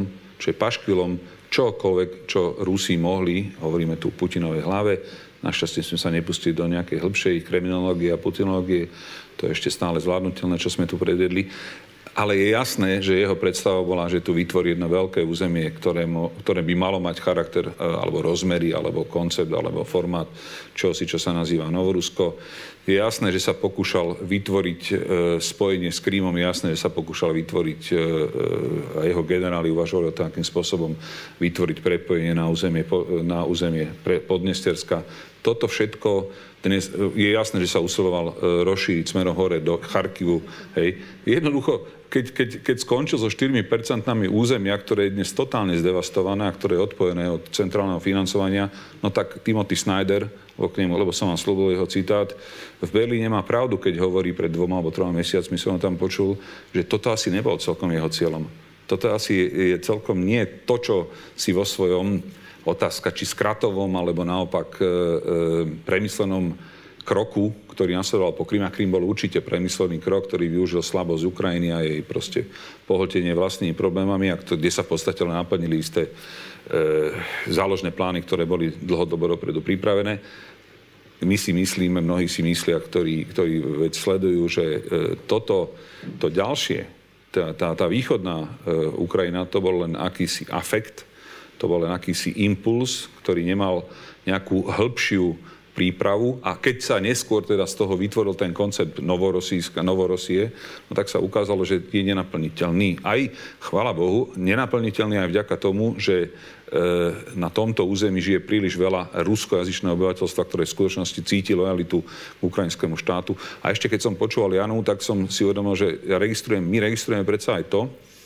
čokoľvek, čo Rusi mohli, hovoríme tu o Putinovej hlave. Našťastie sme sa nepustili do nejakej hĺbšej kriminológie a putinológie. To je ešte stále zvládnutelné, čo sme tu predvedli. Ale je jasné, že jeho predstava bola, že tu vytvorí jedno veľké územie, ktoré by malo mať charakter, alebo rozmery, alebo koncept, alebo formát čosi, čo sa nazýva Novorusko. Je jasné, že sa pokúšal vytvoriť spojenie s Krímom, je jasné, že sa pokúšal vytvoriť, a jeho generáli uvažovali o takým spôsobom vytvoriť prepojenie na územie Podnesterska. Toto všetko dnes je jasné, že sa usiloval rozšíriť smerom hore do Charkivu. Hej. Jednoducho, keď skončil so 4% územia, ktoré je dnes totálne zdevastované a ktoré je odpojené od centrálneho financovania, no tak Timothy Snyder, lebo som vám slúbil jeho citát, v Berlíne má pravdu, keď hovorí pred 2 alebo 3 mesiacmi, som ho tam počul, že toto asi nebol celkom jeho cieľom. Toto asi je celkom nie to, čo si vo svojom otázka, či skratovom, alebo naopak premyslenom kroku, ktorý nasledoval po Kryme. Krym bol určite premyslený krok, ktorý využil slabosť Ukrajiny a jej proste pohltenie vlastnými problémami, a kde sa v podstate len naplnili isté záložné plány, ktoré boli dlhodobo dopredu pripravené. My si myslíme, mnohí si myslia, ktorí veď sledujú, že to ďalšie, tá východná Ukrajina, to bol len akýsi afekt, to bol len akýsi impuls, ktorý nemal nejakú hĺbšiu prípravu, a keď sa neskôr teda z toho vytvoril ten koncept Novorosie, no tak sa ukázalo, že je nenaplniteľný. Aj, chvála Bohu, nenaplniteľný aj vďaka tomu, že na tomto území žije príliš veľa ruskojazyčného obyvateľstva, ktoré v skutočnosti cíti lojalitu k ukrajinskému štátu. A ešte keď som počúval Janu, tak som si uvedomil, že my registrujeme predsa aj to,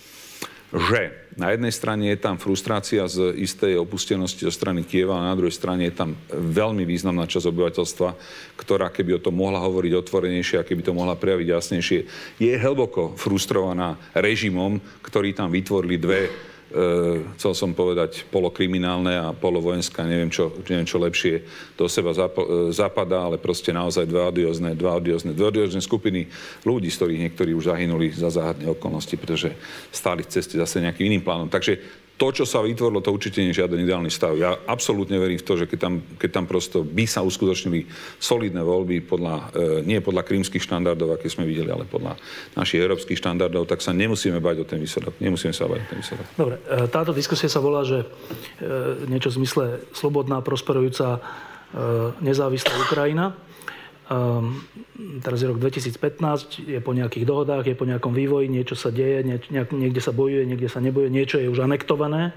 že na jednej strane je tam frustrácia z istej opustenosti zo strany Kieva, a na druhej strane je tam veľmi významná časť obyvateľstva, ktorá keby o tom mohla hovoriť otvorenejšie a keby to mohla prejaviť jasnejšie, je hlboko frustrovaná režimom, ktorý tam vytvorili dve, chcel som povedať, polokriminálne a polovojenské, neviem čo lepšie do seba zapadá, ale proste naozaj dve odiózne skupiny ľudí, z ktorých niektorí už zahynuli za záhadné okolnosti, pretože stáli v ceste zase nejakým iným plánom. Takže to, čo sa vytvorilo, to určite nie je žiaden ideálny stav. Ja absolútne verím v to, že keď tam prosto by sa uskutočnili solidné voľby nie podľa krímskych štandardov, aké sme videli, ale podľa našich európskych štandardov, tak sa nemusíme bať o ten výsledok. Dobre, táto diskusia sa volá, že niečo v zmysle slobodná, prosperujúca, nezávislá Ukrajina. Teraz je rok 2015, je po nejakých dohodách, je po nejakom vývoji, niečo sa deje, niekde sa bojuje, niekde sa nebojuje, niečo je už anektované.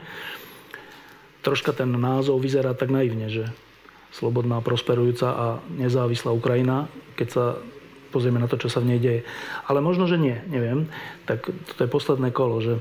Troška ten názov vyzerá tak naivne, že slobodná, prosperujúca a nezávislá Ukrajina, keď sa pozrieme na to, čo sa v nej deje. Ale možno, že nie, neviem. Tak toto je posledné kolo, že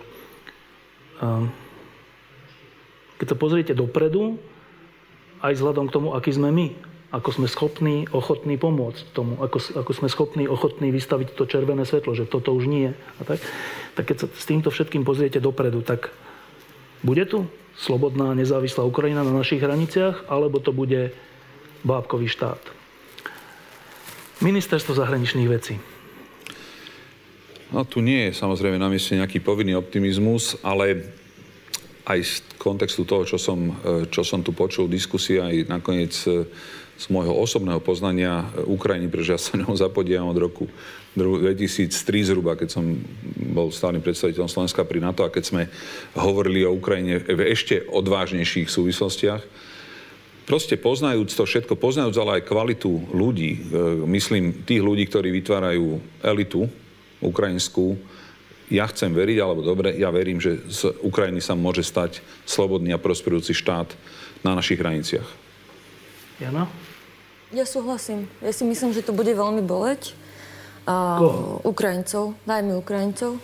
keď sa pozriete dopredu, aj vzhľadom k tomu, aký sme my, ako sme schopní, ochotní pomôcť tomu, ako sme schopní, ochotní vystaviť to červené svetlo, že toto už nie. A tak keď sa s týmto všetkým pozriete dopredu, tak bude tu slobodná, nezávislá Ukrajina na našich hraniciach, alebo to bude bábkový štát? Ministerstvo zahraničných vecí. No tu nie je samozrejme na mieste nejaký povinný optimizmus, ale aj z kontextu toho, čo som tu počul, diskusia aj nakoniec z môjho osobného poznania Ukrajiny, pretože ja sa ňou zapodievam od roku 2003 zhruba, keď som bol stálym predstaviteľom Slovenska pri NATO a keď sme hovorili o Ukrajine v ešte odvážnejších súvislostiach. Proste poznajúc to všetko, poznajúc ale aj kvalitu ľudí, myslím tých ľudí, ktorí vytvárajú elitu ukrajinskú, ja chcem veriť, alebo dobre, ja verím, že z Ukrajiny sa môže stať slobodný a prosperujúci štát na našich hraniciach. Jana? Ja súhlasím. Ja si myslím, že to bude veľmi boleť. Ukrajincov, najmä Ukrajincov.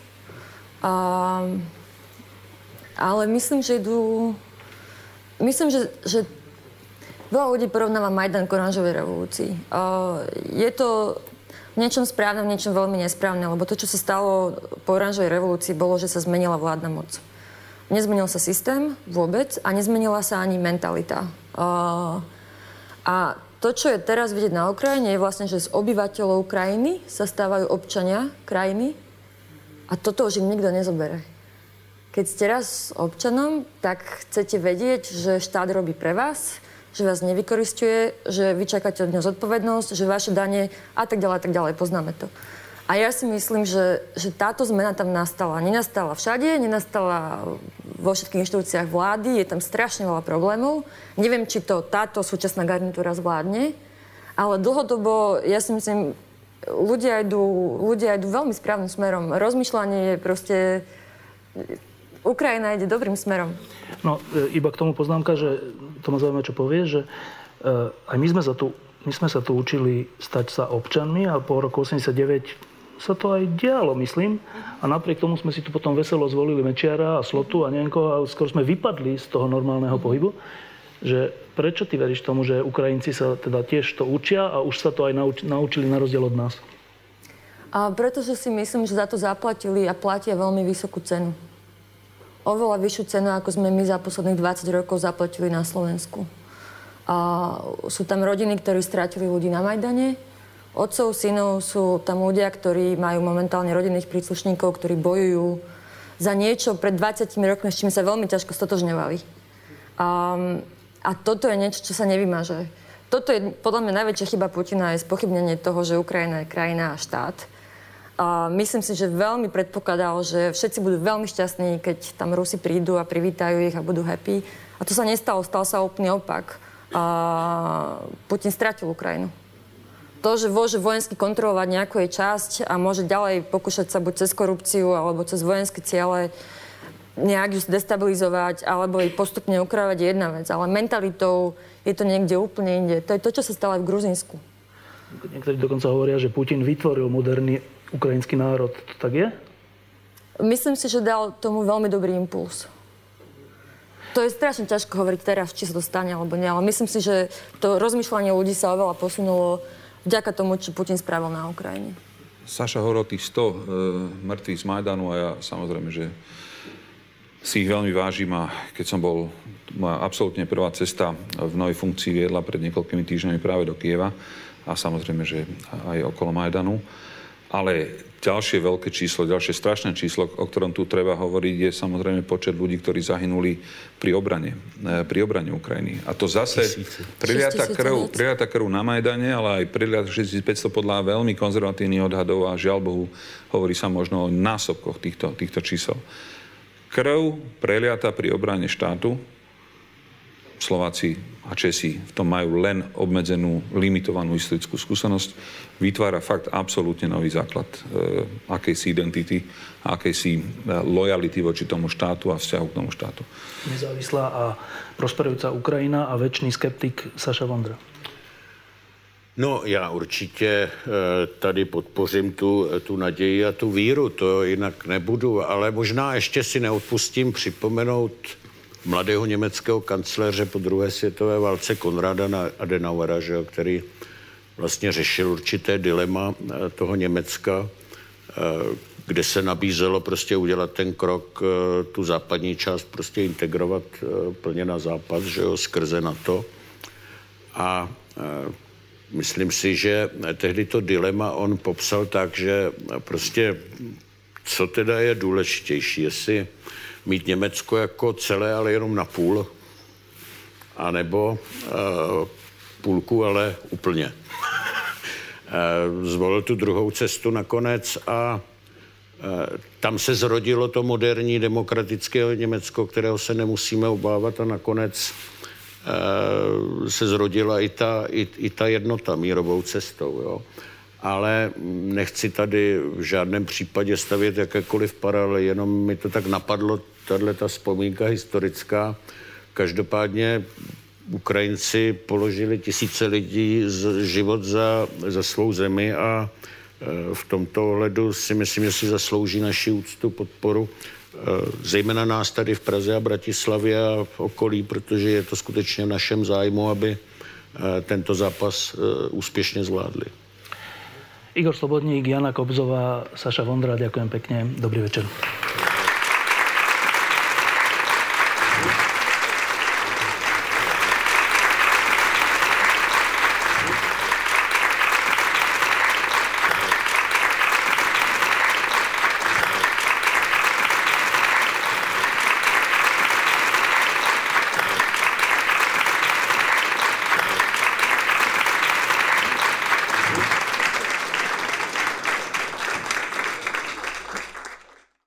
Ale myslím, že veľa ľudí porovnáva Majdan k oranžovej revolúcii. Je to v niečom správne, v niečom veľmi nesprávne, lebo to, čo sa stalo po oranžovej revolúcii, bolo, že sa zmenila vládna moc. Nezmenil sa systém vôbec a nezmenila sa ani mentalita. A to, čo je teraz vidieť na Ukrajine, je vlastne, že z obyvateľov krajiny sa stávajú občania krajiny a toto už im nikto nezobere. Keď ste raz občanom, tak chcete vedieť, že štát robí pre vás, že vás nevykoristuje, že vy čakáte od neho zodpovednosť, že vaše dane a tak ďalej, poznáme to. A ja si myslím, že táto zmena tam nastala. Nenastala všade, nenastala vo všetkých inštitúciách vlády, je tam strašne veľa problémov. Neviem, či to táto súčasná garnitúra zvládne, ale dlhodobo, ja si myslím, ľudia idú veľmi správnym smerom. Rozmýšľanie je proste... Ukrajina ide dobrým smerom. No, iba k tomu poznámka, že to ma zaujíma, čo povie, že aj my sme sa tu učili stať sa občanmi a po roku 89 sa to aj dialo, myslím. A napriek tomu sme si tu potom veselo zvolili Mečiara a Slotu a neviem koho, a skoro sme vypadli z toho normálneho pohybu. Že prečo ty veríš tomu, že Ukrajinci sa teda tiež to učia a už sa to aj naučili na rozdiel od nás? Pretože si myslím, že za to zaplatili a platia veľmi vysokú cenu. Oveľa vyššiu cenu, ako sme my za posledných 20 rokov zaplatili na Slovensku. Sú tam rodiny, ktorí strátili ľudí na Majdane. Otcov, synov, sú tam ľudia, ktorí majú momentálne rodinných príslušníkov, ktorí bojujú za niečo pred 20 rokmi, s čím sa veľmi ťažko stotožňovali. A toto je niečo, čo sa nevymaže. Toto je podľa mňa najväčšia chyba Putina, je spochybnenie toho, že Ukrajina je krajina a štát. Myslím si, že veľmi predpokladal, že všetci budú veľmi šťastní, keď tam Rusi prídu a privítajú ich a budú happy. A to sa nestalo, stal sa úplný opak. Putin stratil Ukrajinu. To, že môže vojensky kontrolovať nejakú jej časť a môže ďalej pokúšať sa buď cez korupciu alebo cez vojenské ciele nejak ju destabilizovať alebo jej postupne ukravať je jedna vec. Ale mentalitou je to niekde úplne inde. To je to, čo sa stalo aj v Gruzínsku. Niektorí dokonca hovoria, že Putin vytvoril moderný ukrajinský národ. To tak je? Myslím si, že dal tomu veľmi dobrý impuls. To je strašne ťažko hovoriť teraz, či sa to stane alebo nie, ale myslím si, že to rozmýšľanie ľudí sa oveľa posunulo vďaka tomu, čo Putin spravil na Ukrajine. Saša hovoril o tých 100 mŕtvych z Majdanu a ja samozrejme, že si ich veľmi vážim a keď som bol, moja absolútne prvá cesta v novej funkcii viedla pred niekoľkými týždňami práve do Kieva a samozrejme, že aj okolo Majdanu. Ale ďalšie veľké číslo, ďalšie strašné číslo, o ktorom tu treba hovoriť, je samozrejme počet ľudí, ktorí zahynuli pri obrane Ukrajiny. A to zase priliata krv na Majdane, ale aj priliata 6500 podľa veľmi konzervatívnych odhadov a žiaľ Bohu, hovorí sa možno o násobkoch týchto čísel. Krv preliata pri obrane štátu, Slováci a Česi v tom majú len obmedzenú, limitovanú historickú skúsenosť, vytvára fakt absolútne nový základ akejsi identity, akejsi lojality voči tomu štátu a vzťahu k tomu štátu. Nezávislá a prosperujúca Ukrajina a večný skeptik Saša Vondra. No, já určitě tady podpořím tu naději a tu víru, to jinak nebudu, ale možná ještě si neodpustím připomenout mladého německého kancléře po druhé světové válce Konrada Adenauera, že, který vlastně řešil určité dilema toho Německa, kde se nabízelo prostě udělat ten krok, tu západní část prostě integrovat plně na západ, že jo, skrze NATO. A myslím si, že tehdy to dilema on popsal tak, že prostě co teda je důležitější, jestli mít Německo jako celé, ale jenom na půl, anebo půlku, ale úplně. Zvolil tu druhou cestu nakonec a tam se zrodilo to moderní demokratické Německo, kterého se nemusíme obávat a nakonec se zrodila i ta jednota mírovou cestou. Jo. Ale nechci tady v žádném případě stavět jakékoliv paralely, jenom mi to tak napadlo, tato vzpomínka historická. Každopádně Ukrajinci položili tisíce lidí život za svou zemi a v tomto ohledu si myslím, že si zaslouží naši úctu, podporu, zejména nás tady v Praze a Bratislavě a v okolí, protože je to skutečně v našem zájmu, aby tento zápas úspěšně zvládli. Igor Slobodník, Jana Kobzová, Saša Vondra, ďakujem pekne. Dobrý večer.